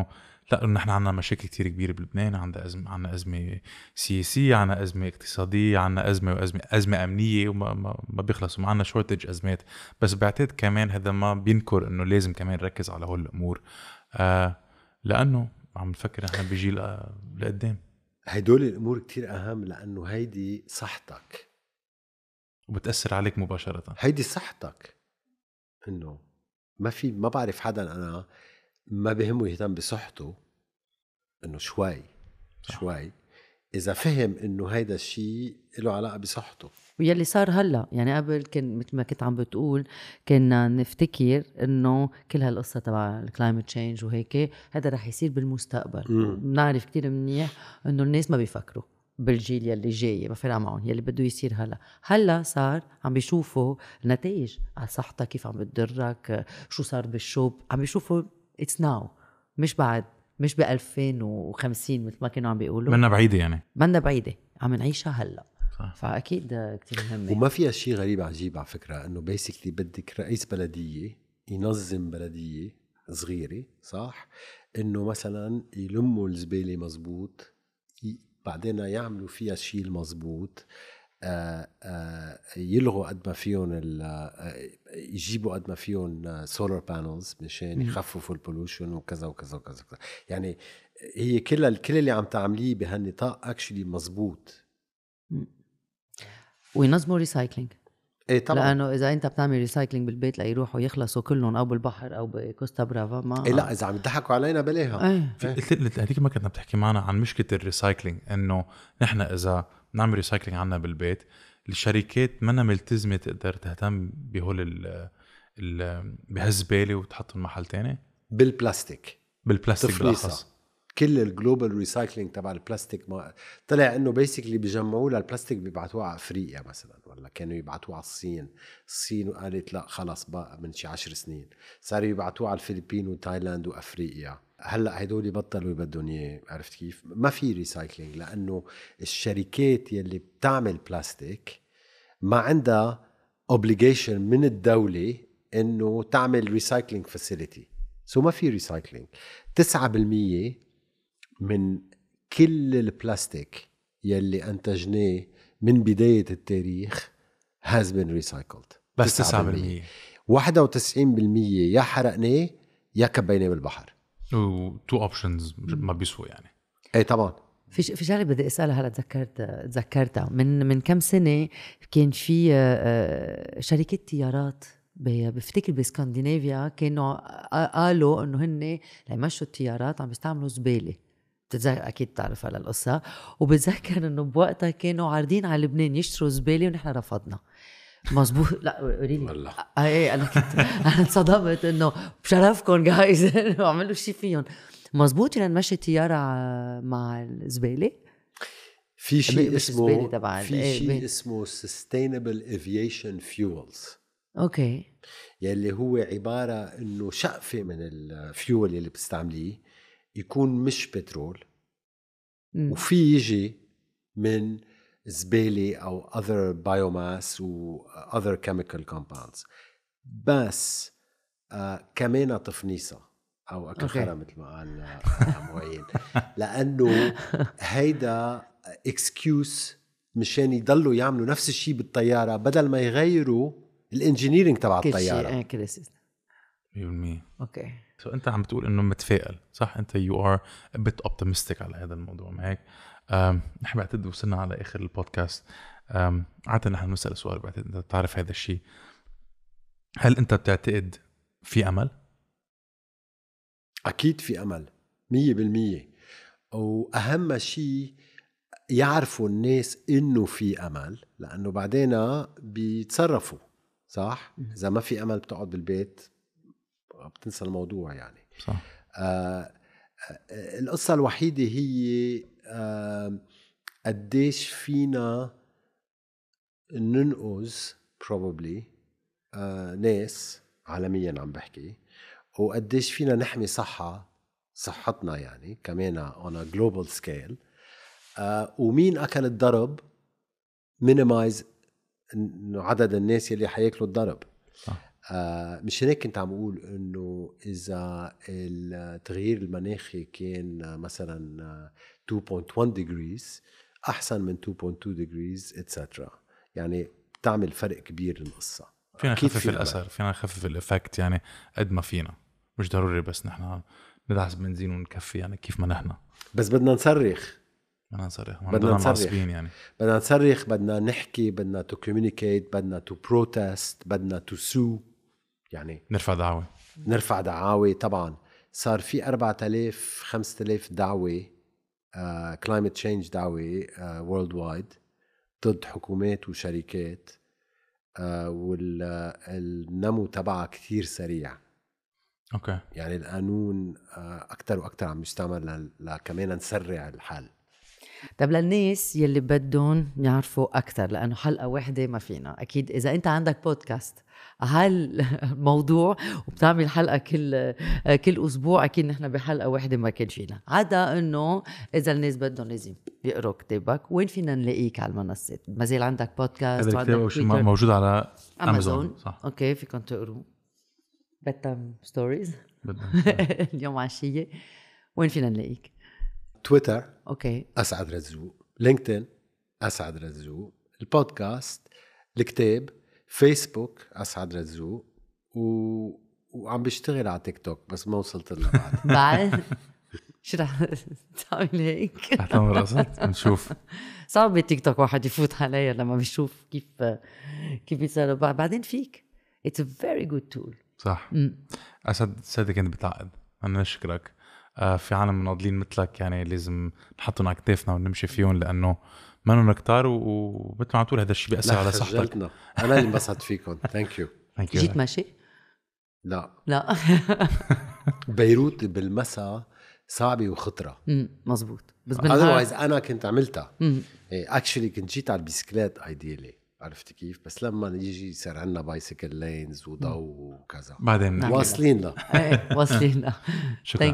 لا نحن عنا مشاكل كتير كبيرة بلبنان. عنا أزمة عنا أزمة سياسية، عنا أزمة اقتصادية، عنا أزمة وأزمة أزمة أمنية، وما ما, ما بيخلصوا. معنا شورتج أزمات. بس بعتقد كمان هذا ما بينكر إنه لازم كمان نركز على هول الأمور، آه لأنه عم نفكر نحن بجيل لقدام. هيدول الأمور كتير أهم، لأنه هيدي صحتك وبتأثر عليك مباشرة. هيدي صحتك. إنه ما في ما بعرف حدا أنا ما بهمه يهتم بصحته، إنه شوي صح. شوي إذا فهم إنه هيدا الشيء له علاقة بصحته. ويلي صار هلا يعني قبل كان مثل ما كنت عم بتقول كنا نفتكر انه كل هالقصه تبع الكلايمت تشينج وهيك هذا رح يصير بالمستقبل. بنعرف كتير منيح انه الناس ما بيفكروا بالجيل يلي جاي، ما فرق معهم يلي بده يصير هلا. هلا صار عم بيشوفوا النتائج على صحتك كيف عم بتضرك، شو صار بالشوب، عم بيشوفوا اتس ناو، مش بعد، مش ب ألفين وخمسين مثل ما كانوا عم بيقولوا. منا بعيده يعني منا بعيده، عم نعيشها هلا. فأكيد كتير مهمة. وما فيها شيء غريب عجيب على فكرة، إنه بيسكلي بدك رئيس بلدية ينظم بلدية صغيرة، صح؟ إنه مثلا يلموا الزبالة مزبوط، بعدين يعملوا فيها شيء المزبوط، آآ آآ يلغوا قد ما فيهم، يجيبوا قد ما فيهم سولار بانلز مشان يخففوا البولوشن وكذا وكذا وكذا. يعني هي كل كل اللي عم تعمليه بهالنطاق اكشلي مزبوط. وينظموا ريسايكلينج. ايه طبعا، لانه اذا انت بتعمل ريسايكلينج بالبيت ليروحوا يخلصوا كلهم او بالبحر او بكوستا برافا، ما إيه لا اذا عم يضحكوا علينا بلاها. ايه. قلت هذيك ما كنا بتحكي معنا عن مشكله الريسايكلينج، انه نحن اذا نعمل ريسايكلينج عنا بالبيت الشركات منا ملتزمه تقدر تهتم بهول ال بهالزباله وتحطهم محل تاني بالبلاستيك. بالبلاستيك بالاخص. كل الجلوبال ريسايكلينج تبع البلاستيك ما طلع انه بيسكلي بيجمعوه للبلاستيك بيبعتوه على افريقيا مثلا، ولا كانوا يبعتوه على الصين. الصين قالت لا خلاص بقى من شي عشر سنين صاروا يبعتوه على الفلبين وتايلاند وافريقيا. هلا هدول بطلوا يبدون اياه. عرفت كيف؟ ما في ريسايكلينج لانه الشركات يلي بتعمل بلاستيك ما عندها اوبليجيشن من الدوله انه تعمل ريسايكلينج فاسيليتي، سو ما في ريسايكلينج. تسعة بالمية من كل البلاستيك يلي أنتجناه من بداية التاريخ has been recycled. بس تسعة بالمية. واحد وتسعين بالمية يا حرقناه يا كبيناه بالبحر. و two options ما بيسوى يعني. ايه طبعا. في في شغله بدي اسالها هلا تذكرت تذكرتها من من كم سنه كان في شركه طيارات بفتكر باسكندنافيا كانوا قالوا انه هن ليمشوا الطيارات عم بيستعملوا زباله. بتتذكر اكيد تعرف على القصه. وبتذكر انه بوقتها كانوا عارضين على لبنان يشتروا زباله ونحن رفضنا. مزبوط. لا قولي لي والله ايه انا كنت انا انصدمت انه بشرفكم جايز عملوا شيء فيهم. مزبوط ان نمشي طياره مع الزباله. في شيء اسمه في ايه شيء اسمه sustainable aviation fuels. اوكي. يلي هو عباره انه شقفه من الفيول اللي بتستعمليه يكون مش بترول، م. وفي يجي من زبالة أو other biomass و other chemical compounds. بس آه كمان تفنيصة أو أكخرة مثل ما قال معين، لأنه هيدا excuse مشان يضلوا يعملوا نفس الشيء بالطيارة بدل ما يغيروا الانجينيرينج تبع الطيارة. كل شيء مية بالمية. اوكي. سو انت عم بتقول انه متفائل صح؟ انت you are a bit optimistic على هذا الموضوع، ما هيك؟ نحن بعتقد وصلنا على اخر البودكاست. عادة نحن نسأل سؤال، بعتقد انت تعرف هذا الشيء. هل انت بتعتقد في امل؟ اكيد في امل مية بالمية. واهم شيء يعرفوا الناس انه في امل، لانه بعدين بيتصرفوا صح. اذا ما في امل بتقعد بالبيت بتنسى الموضوع يعني. صح. آه القصة الوحيدة هي آه قديش فينا ننقذ probably آه ناس عالميا عم بحكي، وقديش فينا نحمي صحة صحتنا يعني كمان on a global scale. آه ومين أكل الضرب minimize عدد الناس اللي حياكلوا الضرب. صح. آه مش هيك كنت عم أقول إنه إذا التغيير المناخي كان مثلا اثنين فاصلة واحد degrees أحسن من اثنين فاصلة اثنين degrees إتسترا. يعني بتعمل فرق كبير القصة. فينا نخفف الأثر، فينا نخفف الإفكت يعني قد ما فينا، مش ضروري بس نحن ندعس بنزين ونكفي يعني كيف ما نحن، بس بدنا نصرخ، بدنا نصرخ، بدنا نصرخ يعني بدنا نصرخ، بدنا نحكي، بدنا تو كوميونيكيت، بدنا تو بروتست، بدنا تو سو، يعني نرفع دعوة نرفع دعاوي. طبعا صار في أربعة آلاف خمسة آلاف دعوة كلايمت تشينج دعوة وورلد وايد ضد حكومات وشركات، والنمو تبعها كثير سريع. اوكي يعني القانون اكثر واكثر عم يستعمل لكمان نسرع الحل. طب للناس يلي بدهم يعرفوا اكثر، لانه حلقه واحده ما فينا، اكيد اذا انت عندك بودكاست هالموضوع وبتعمل حلقه كل كل اسبوع، اكيد نحن بحلقه واحده ما كان فينا، عدا انه اذا الناس بدهم لازم يقروا كتابك. وين فينا نلاقيك على المنصات؟ ما زال عندك بودكاست وعندك موجود على امازون, أمازون. صح اوكي فيكم تقروا بدتم ستوريز اليوم عشيه. وين فينا نلاقيك؟ تويتر اوكي اسعد رزوق، لينكدين اسعد رزوق، البودكاست، الكتاب، فيسبوك اسعد رزوق، و... وعم بشتغل على تيك توك بس ما وصلت له بعد. بعد شو رح تعمل هيك؟ اعتمر راسك نشوف. صعب التيك توك واحد يفوت عليها لما بيشوف كيف كيف يصير. بعدين فيك it's a very good tool. صح. م. اسد سيدي كنت بتعقد، انا نشكرك. آه في عالم مناضلين مثلك يعني لازم نحطهم على كتافنا ونمشي فيهم، لانه ما نحن كتار، ومثل ما عم تقول هذا الشيء بيأثر على صحتك. انا اللي انبسطت فيكم. ثانك يو. جيت ماشي؟ لا لا بيروت بالمساء صعبه وخطره. امم مزبوط. بس بالنهار انا كنت عملتها اكشلي، كنت جيت على البيسكليت ايديالي، عرفت كيف؟ بس لما يجي يصير عندنا بايسيكل لينز وضوء وكذا بعدين واصلين له. ايه واصلين له. شكرا.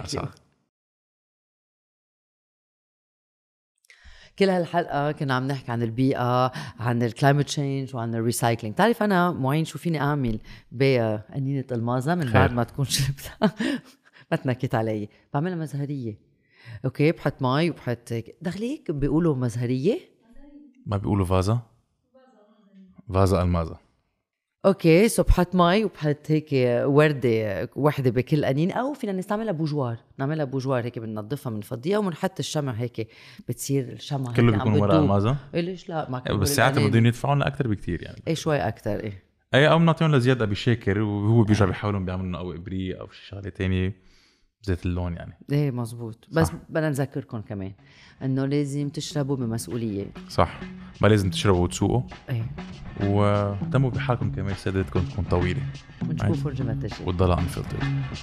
كل هالحلقة كنا عم نحكي عن البيئة، عن الكلايمت تشينج وعن الريسايكلينج. تعرف أنا معين شو فيني أعمل بقنينة المازة من بعد ما تكون شربتها؟ ما تنكت علي، بعملها مزهرية. أوكي بحط ماي وبحط دخليك بيقولوا مزهرية، ما بيقولوا فازة فازة المازة. اوكي سو بحط ماي وبحط هيك وردة وحدة بكل قنين، او فينا نستعملها بوجوار، نعملها بوجوار هيك بننظفها بنفضيها وبنحط الشمع هيك بتصير الشمع كله بيكون ورق المازة. إيه ليش لا؟ ما بس ساعتها بدهم يدفعوا لنا اكثر بكثير يعني. ايه شوي اكثر. ايه اي او بنعطيهم لزياد ابي شاكر وهو بيرجع بيحاولوا بيعملوا لنا او ابريق او شي شغله ثانيه زيت اللون يعني. ايه مزبوط. بس بدنا نذكركم كمان انه لازم تشربوا بمسؤوليه. صح، ما لازم تشربوا وتسوقوا. ايه وتموا بحالكم كمان، سادتكم تكون طويله ونشوفوا فرجه ما تجي والضلع انفلتر.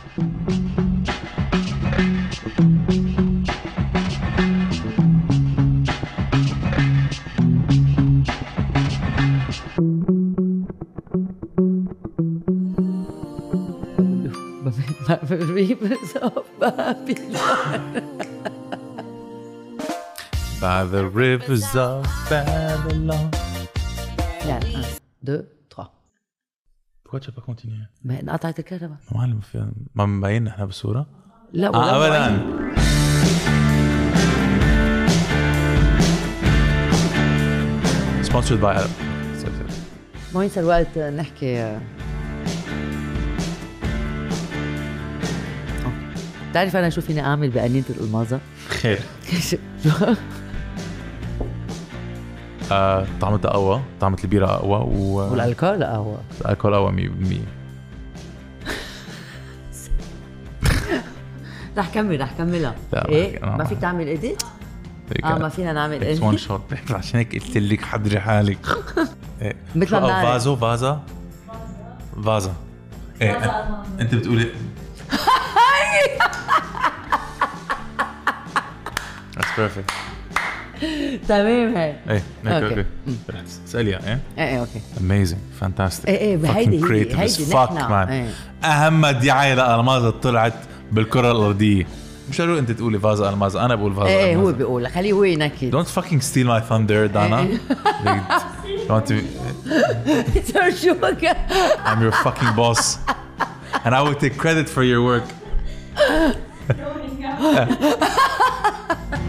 Rivers of Babylon. By the rivers of Babylon. لا un, deux, trois. Pourquoi tu n'as pas continué? ما انقطعت الكهرباء. معلم في ما مبين احنا بالصورة؟ لا ولا آه ابدا. Sponsored by Arab. ما ينسى الوقت نحكي. تعرف أنا شو فيني أعمل بقنينة الألمازة؟ خير. آه، طعمتها قهوة، طعمة البيرة قهوة و... والألكول قهوة. الألكول قهوة مية بالمية. رح كمل رح كملها. إيه ما فيك تعمل إيديت؟ آه ما فينا نعمل إيديت. وان شوت عشان هيك قلت لك حضري حالك. إيه. مثل ما بنعرف. فازو فازا فازا. إيه أنت بتقولي. That's perfect. تمام هاي. ايه هيك اوكي. اساليها ايه؟ ايه ايه اوكي. Amazing, fantastic. ايه ايه هيدي هيدي هيدي نحن. اهم دعاية لألمازة طلعت بالكرة الأرضية. مش قالوا انت تقولي فازا المازا انا بقول فازا ايه المازا هو بيقول خليه هو ينكد. Don't fucking steal my thunder Dana. Don't to... I'm your fucking boss and I will take credit for your work.